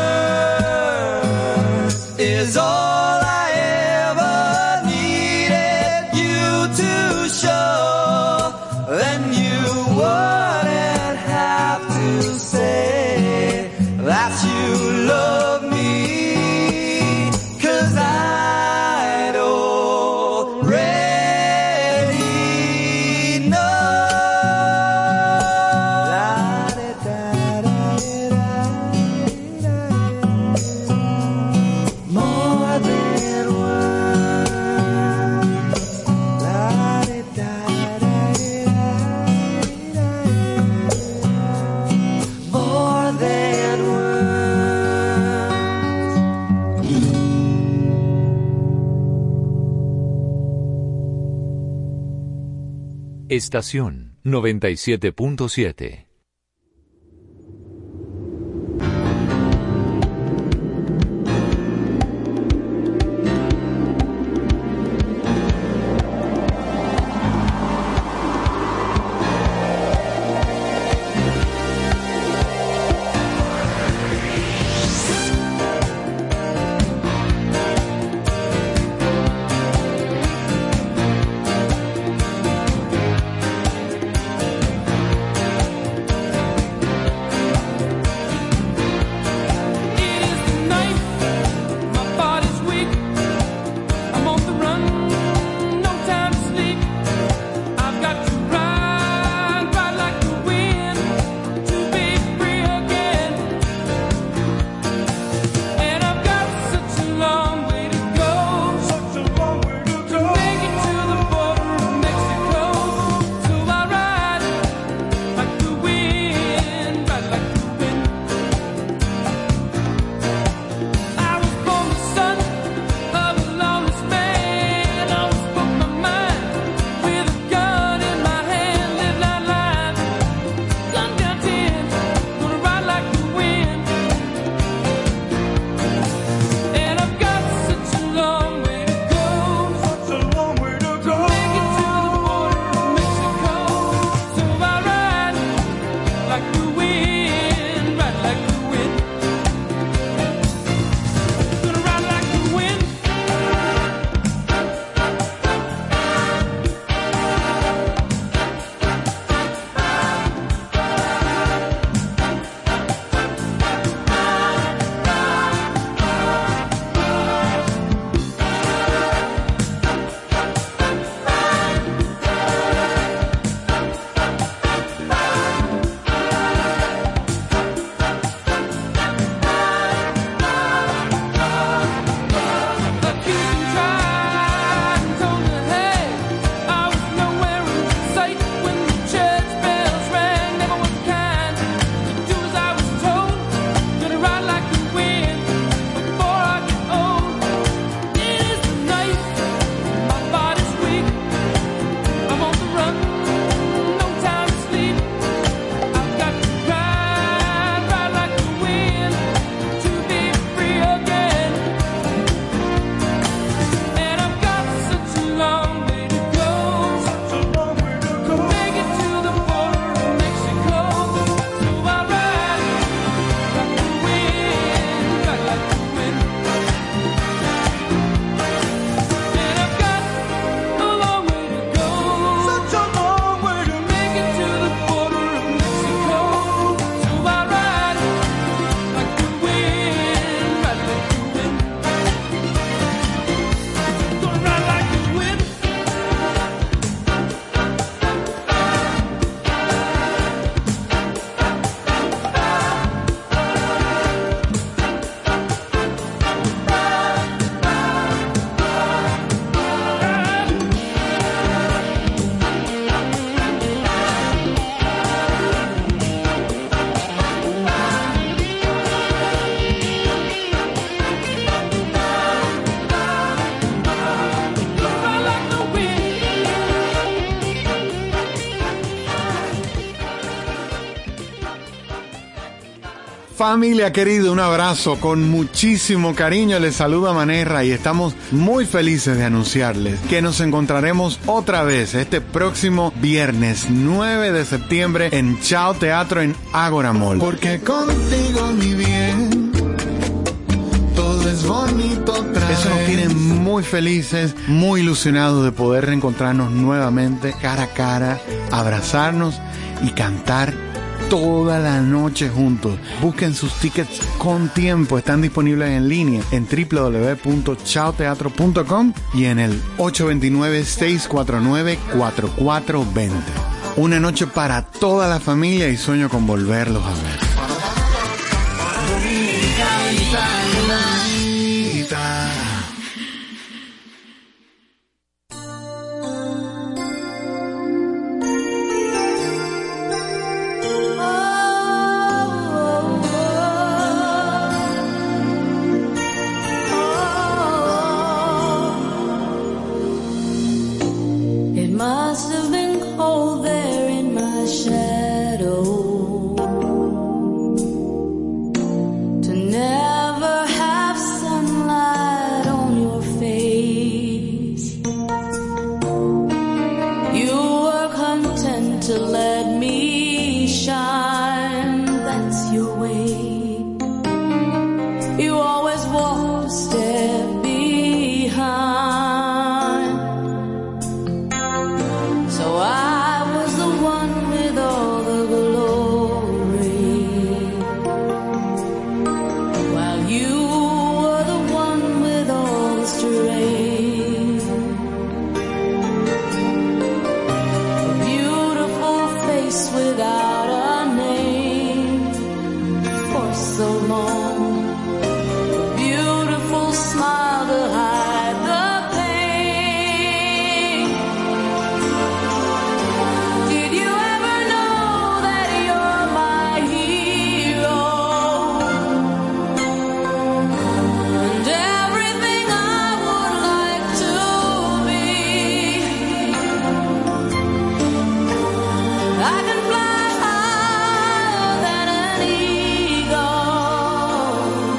words is all I ever needed you to show. Then you wouldn't have to say that you love me, 'cause I'd already know. More than words. More than Estación 97.7. Familia querida, un abrazo con muchísimo cariño. Les saluda Manerra y estamos muy felices de anunciarles que nos encontraremos otra vez este próximo viernes 9 de septiembre en Chao Teatro en Ágora Mall. Porque contigo, mi bien, todo es bonito otra vez. Eso nos tiene muy felices, muy ilusionados de poder reencontrarnos nuevamente cara a cara, abrazarnos y cantar toda la noche juntos. Busquen sus tickets con tiempo. Están disponibles en línea en www.chaoteatro.com y en el 829-649-4420. Una noche para toda la familia y sueño con volverlos a ver. It must have been cold there in my shadow to never have sunlight on your face. You were content to let me shine, that's your way. You always walked a step behind. So I was the one with all the glory, while you were the one with all the strength. A beautiful face without a name for so long. A beautiful smile to hide the pain. Did you ever know that you're my hero? And everything I would like to be. I can fly higher than an eagle.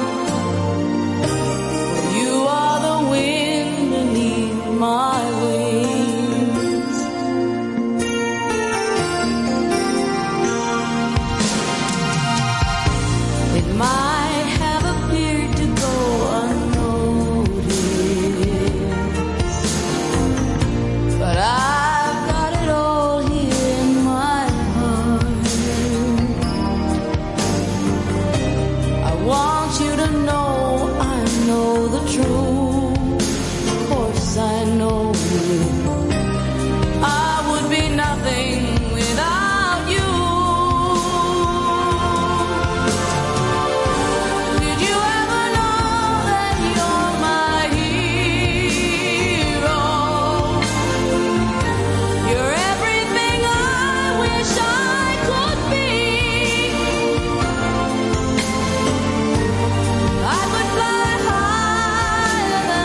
You are the wind beneath my wings. It might have appeared to go unnoticed, but I've got it all here in my heart. I want you to know I know the truth. Of course I know I would be nothing without you. Did you ever know that you're my hero? You're everything I wish I could be. I could fly higher than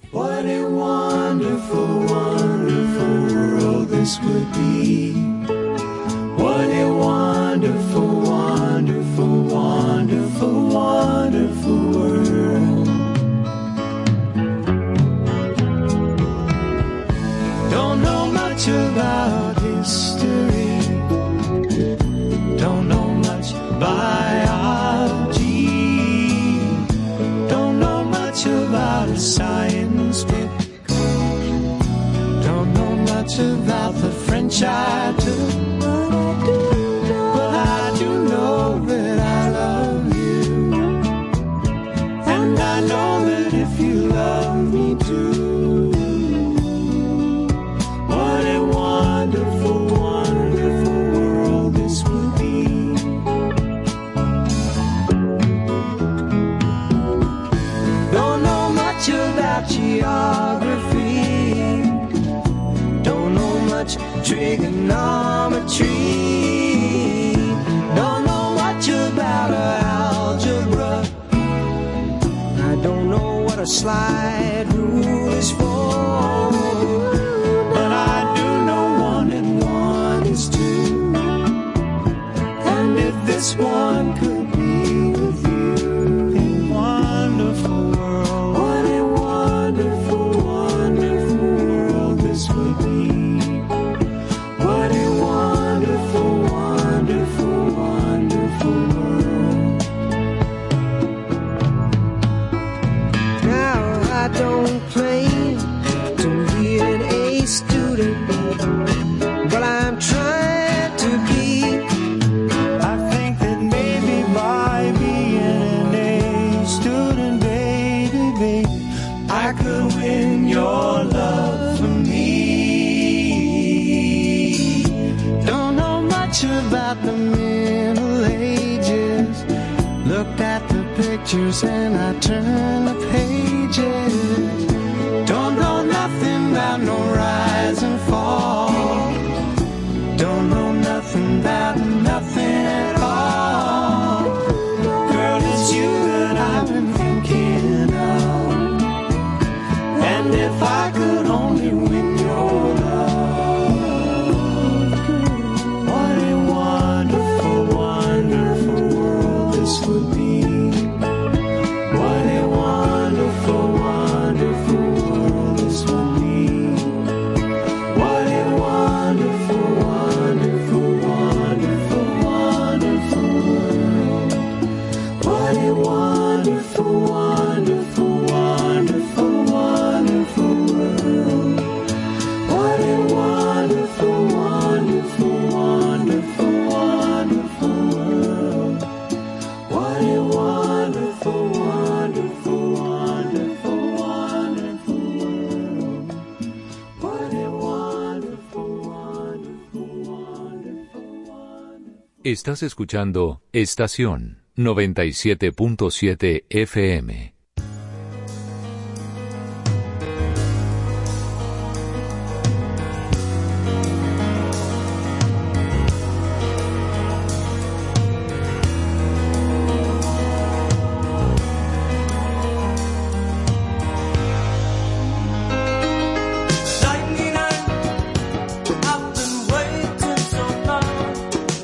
What a wonderful, wonderful world this would be. What a wonderful, wonderful, wonderful, wonderful world. Don't know much about history. Don't know much biology. Don't know much about science book. Don't know much about the French I took. But I do know that I love you. And I know that if you love me too. What a wonderful, wonderful world this would be. Don't know much about geography. Don't know much trigonometry. Don't know much about algebra. I don't know what a slide rule is for. But I do know 1 and 1 is 2. And if this one could be with you, a wonderful world. What a wonderful, wonderful world this would be. What a wonderful, wonderful, wonderful world. Now I don't claim to be an A student, but I'm trying to be. I think that maybe by being an A student, baby, I could win your love for me. Don't know much about the Middle Ages. Looked at the pictures and I turned the pages. Don't know nothing about no rise and fall. Don't know nothing about nothing at all. Girl, it's you that I've been thinking of. And if I could only win your love, what a wonderful, wonderful world this would be. What a wonderful, wonderful world this would be. What a wonderful, wonderful, wonderful, wonderful world. What a wonderful, wonderful, wonderful, wonderful world. What a wonderful, wonderful, wonderful, wonderful world. What a wonderful, wonderful, wonderful, wonderful world. What a wonderful, wonderful, wonderful, wonderful. Estás escuchando Estación 97.7 FM.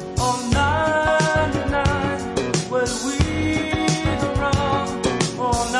Well, we around.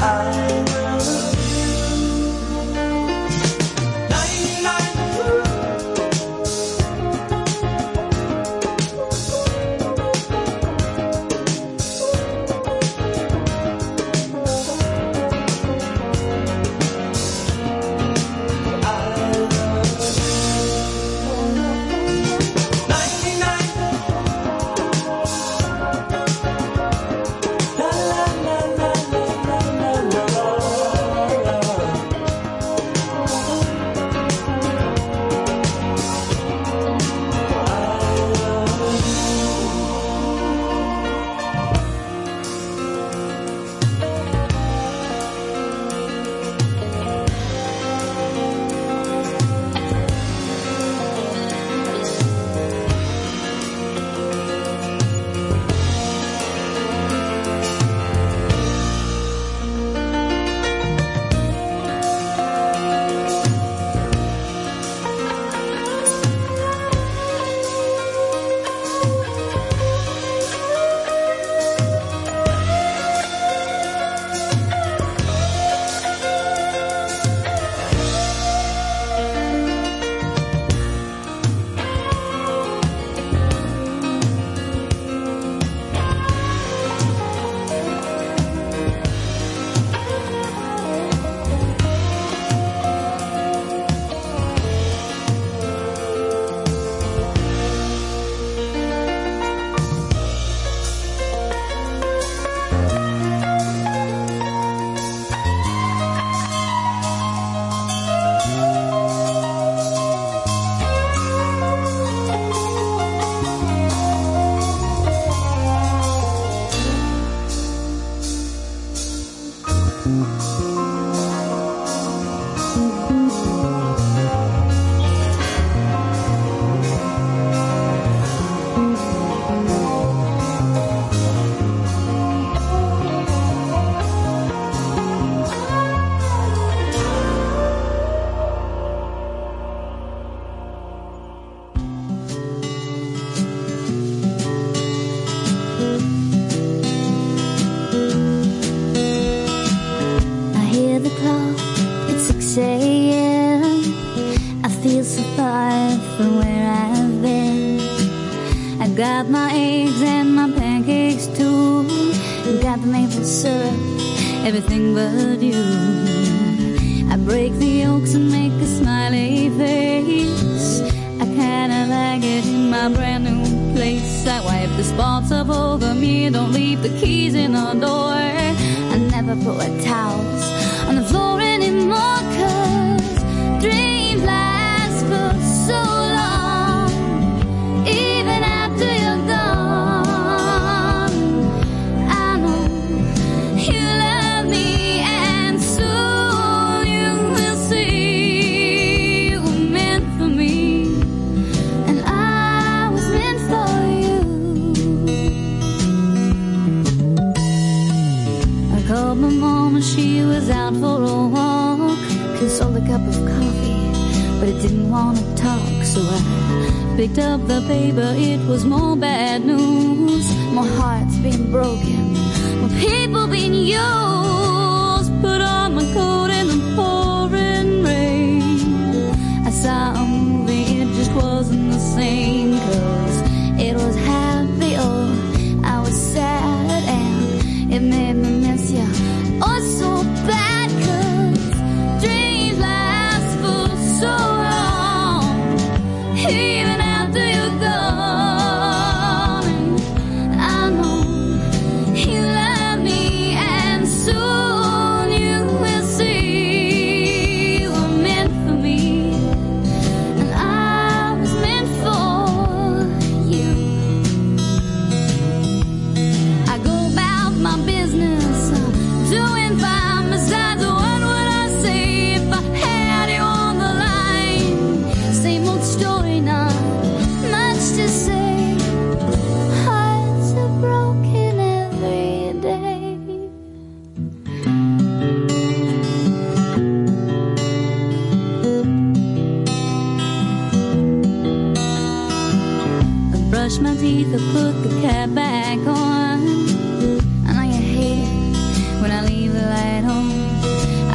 Got my eggs and my pancakes too. Got the maple syrup, everything but you. I break the yolks and make a smiley face. I kinda like it in my brand new place. I wipe the spots up over me, don't leave the keys in the door. I never put wet towels on the floor anymore, 'cause dreams last for so long. Even after you're gone, I know you love me, and soon you will see you were meant for me, and I was meant for you. I called my mom and she was out for a walk. Consoled a cup of coffee, but it didn't want to talk, so I picked up the paper. It was more bad news, more hearts being broken, more people being used. Put on my coat in the pouring rain. I saw a movie, it just wasn't the same, 'cause it was happy or I was sad, and it made me miss you oh so bad, 'cause dreams last for so long. Even after you're gone, and I know you love me, and soon you will see you were meant for me, and I was meant for you. I go about my business, doing fine. Besides, what would I say if I had you on the line? Same old story, not much to say. Hearts are broken every day. I brush my teeth, I put the cap back on. I know you hate it when I leave the light on.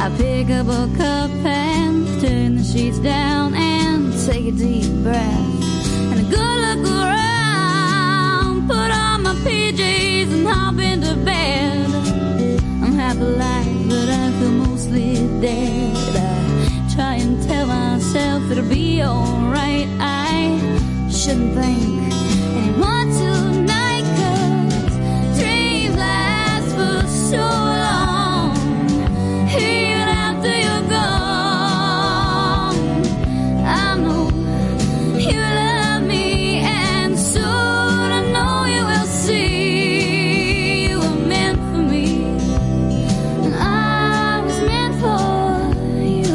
I pick up a cup and turn the sheets down and take a deep breath and a good look around. Put on my PJs and hop into bed. I'm half alive, but I feel mostly dead. I try and tell myself it'll be alright. I shouldn't think anymore tonight, 'cause dreams last for so long, even after you're gone. I know you love me, and soon I know you will see you were meant for me, and I was meant for you.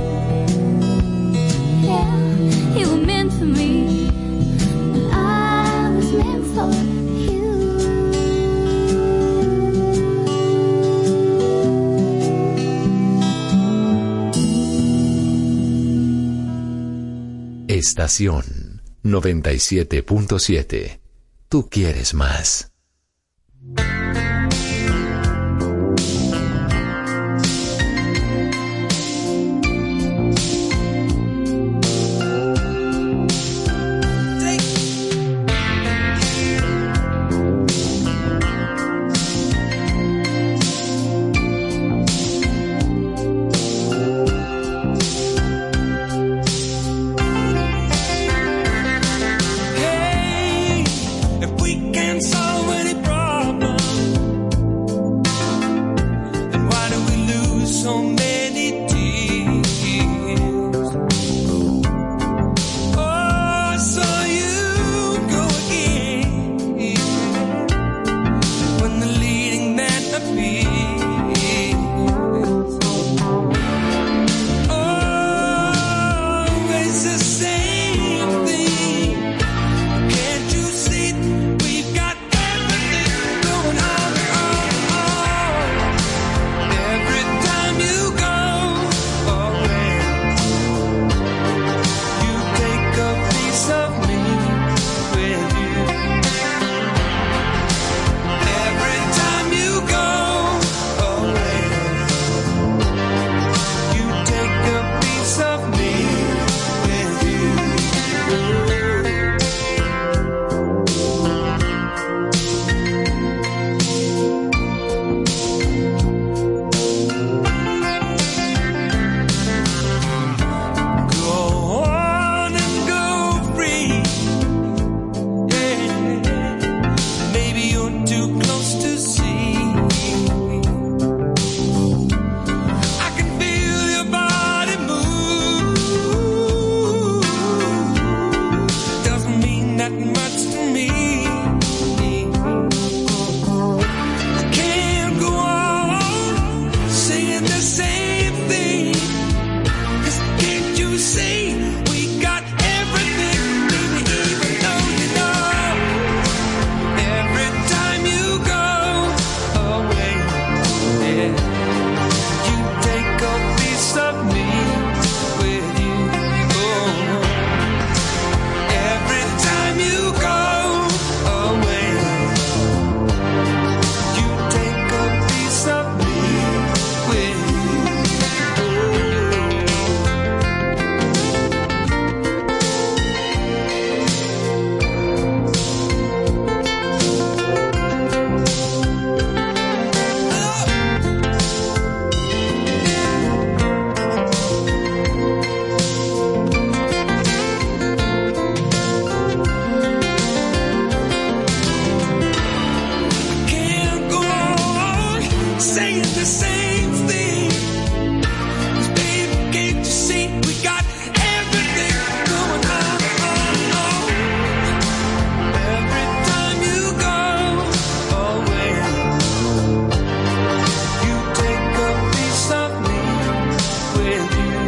Yeah, you were meant for me, and I was meant for you. Estación 97.7. Tú quieres más. Hey, if we can solve any problem, then why do we lose so many tears? Oh, I saw you go again when the leading man appears. Always the same thing. Can't you see we've got everything going on? Every time you go away, you take a piece of me with you. Every time you go away, you take a piece of me with you. Go on and go free. Yeah, maybe you're too close to see. I can feel your body move. Doesn't mean that much to me. I can't go on saying the same thing. 'Cause can't you see we got everything, baby, even though you know. Every time you go away, yeah, you take a piece of me with you. Oh, every time you go away, you take a piece of me with you. Can't go on saying the same thing. 'Cause baby, can't you see we got everything going on? Every time you go away, you take a piece of me with you.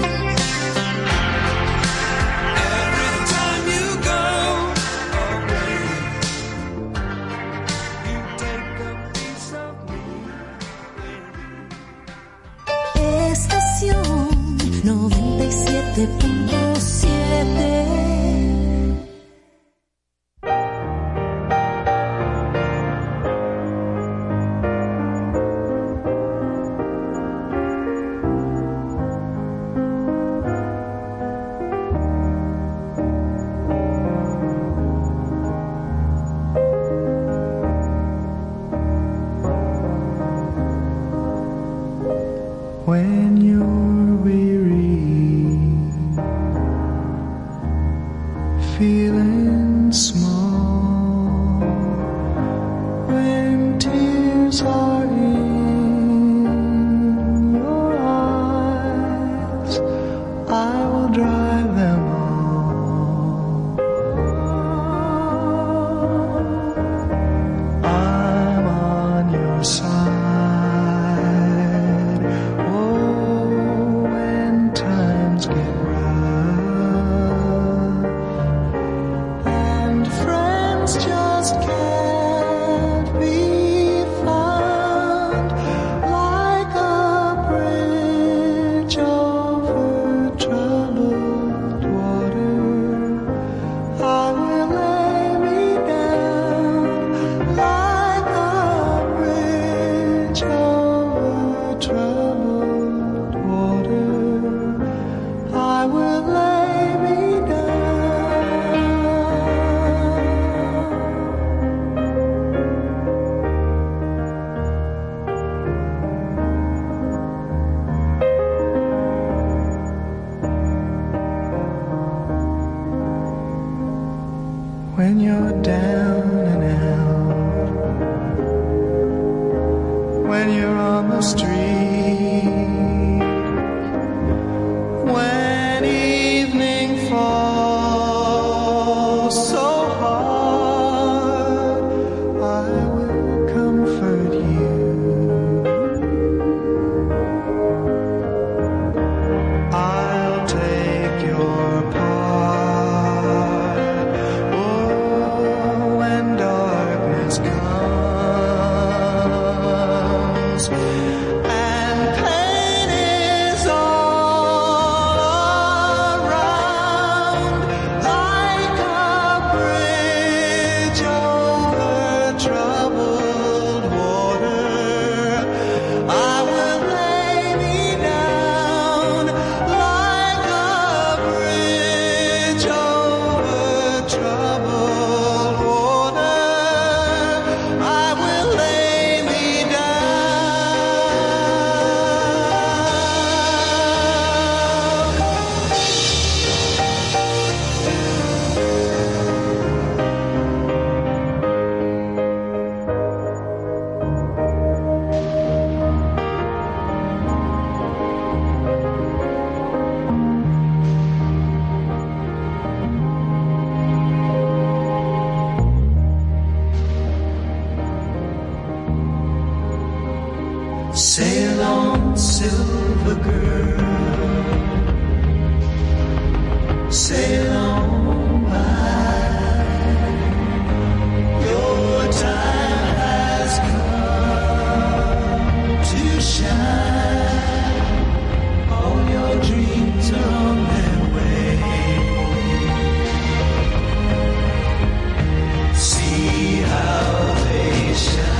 Every time you go away, you take a piece of me with you. Estación 97.7. when you're weary, feeling small, when tears are in your eyes, I will dry them all. I'm on your side. When you're down and out, when you're on the street, when evening falls so hard, I will comfort you. I'll take your part. Sail on, silver girl, sail on by. Your time has come to shine. All your dreams are on their way. See how they shine.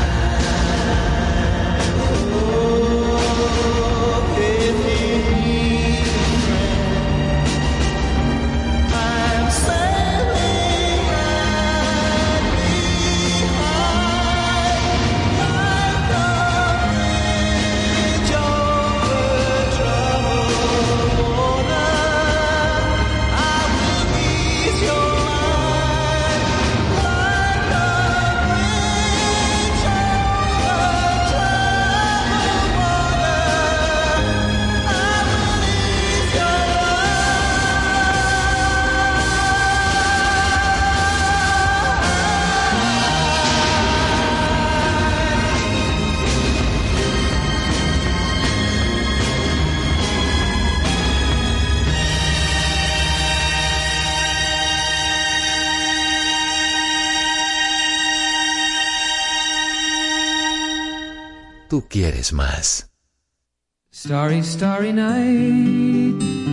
Tú quieres más. Starry, starry night.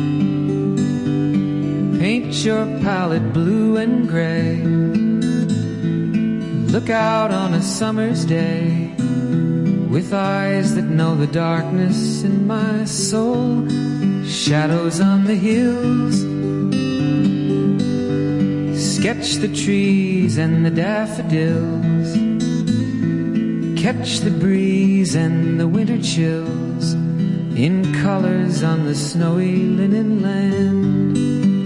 Paint your palette blue and gray. Look out on a summer's day with eyes that know the darkness in my soul. Shadows on the hills. Sketch the trees and the daffodils. Catch the breeze and the winter chills. in colors on the snowy linen land.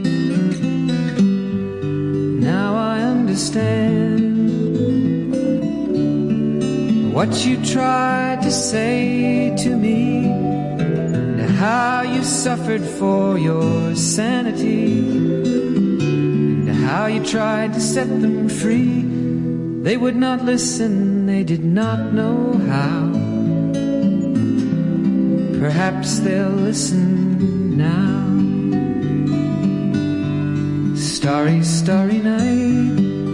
Now I understand what you tried to say to me, and how you suffered for your sanity, and how you tried to set them free. They would not listen, they did not know how. Perhaps they'll listen now. Starry, starry night,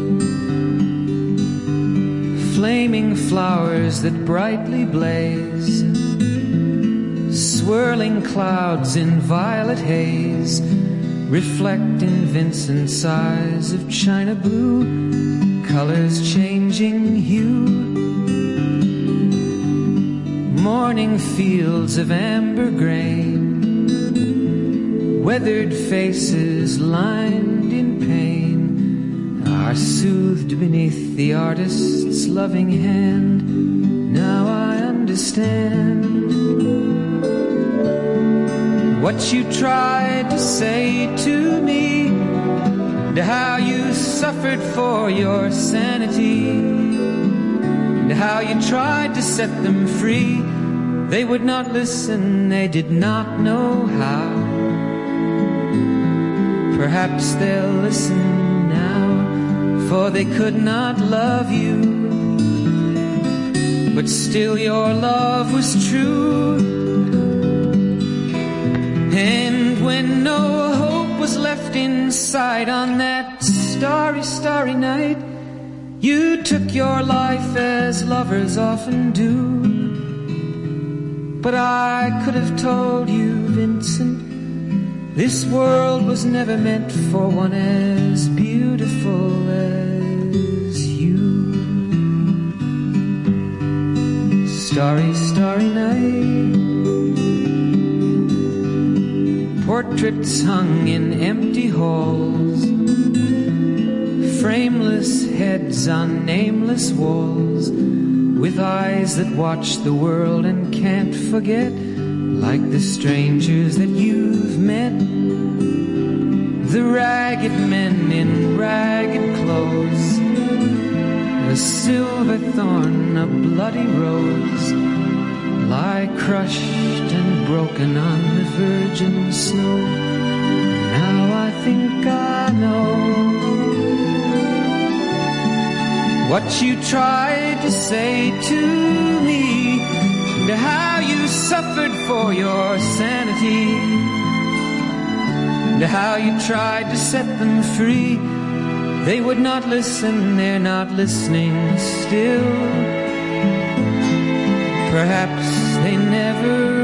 flaming flowers that brightly blaze, swirling clouds in violet haze, reflecting Vincent's eyes of china blue, colors changing hue. Morning fields of amber grain, weathered faces lined in pain, are soothed beneath the artist's loving hand. Now I understand what you tried to say to me, and how you suffered for your sanity, and how you tried to set them free. They would not listen, they did not know how. Perhaps they'll listen now, for they could not love you, but still your love was true. And when no hope was left inside on that starry, starry night, you took your life as lovers often do. But I could have told you, Vincent, this world was never meant for one as beautiful as you. Starry, starry night, portraits hung in empty halls, frameless heads on nameless walls, with eyes that watch the world and can't forget, like the strangers that you've met, the ragged men in ragged clothes, a silver thorn, a bloody rose, lie crushed and broken on the virgin snow. Now I think I know what you tried to say to me, and how you suffered for your sanity, and how you tried to set them free. They would not listen, they're not listening still. Perhaps they never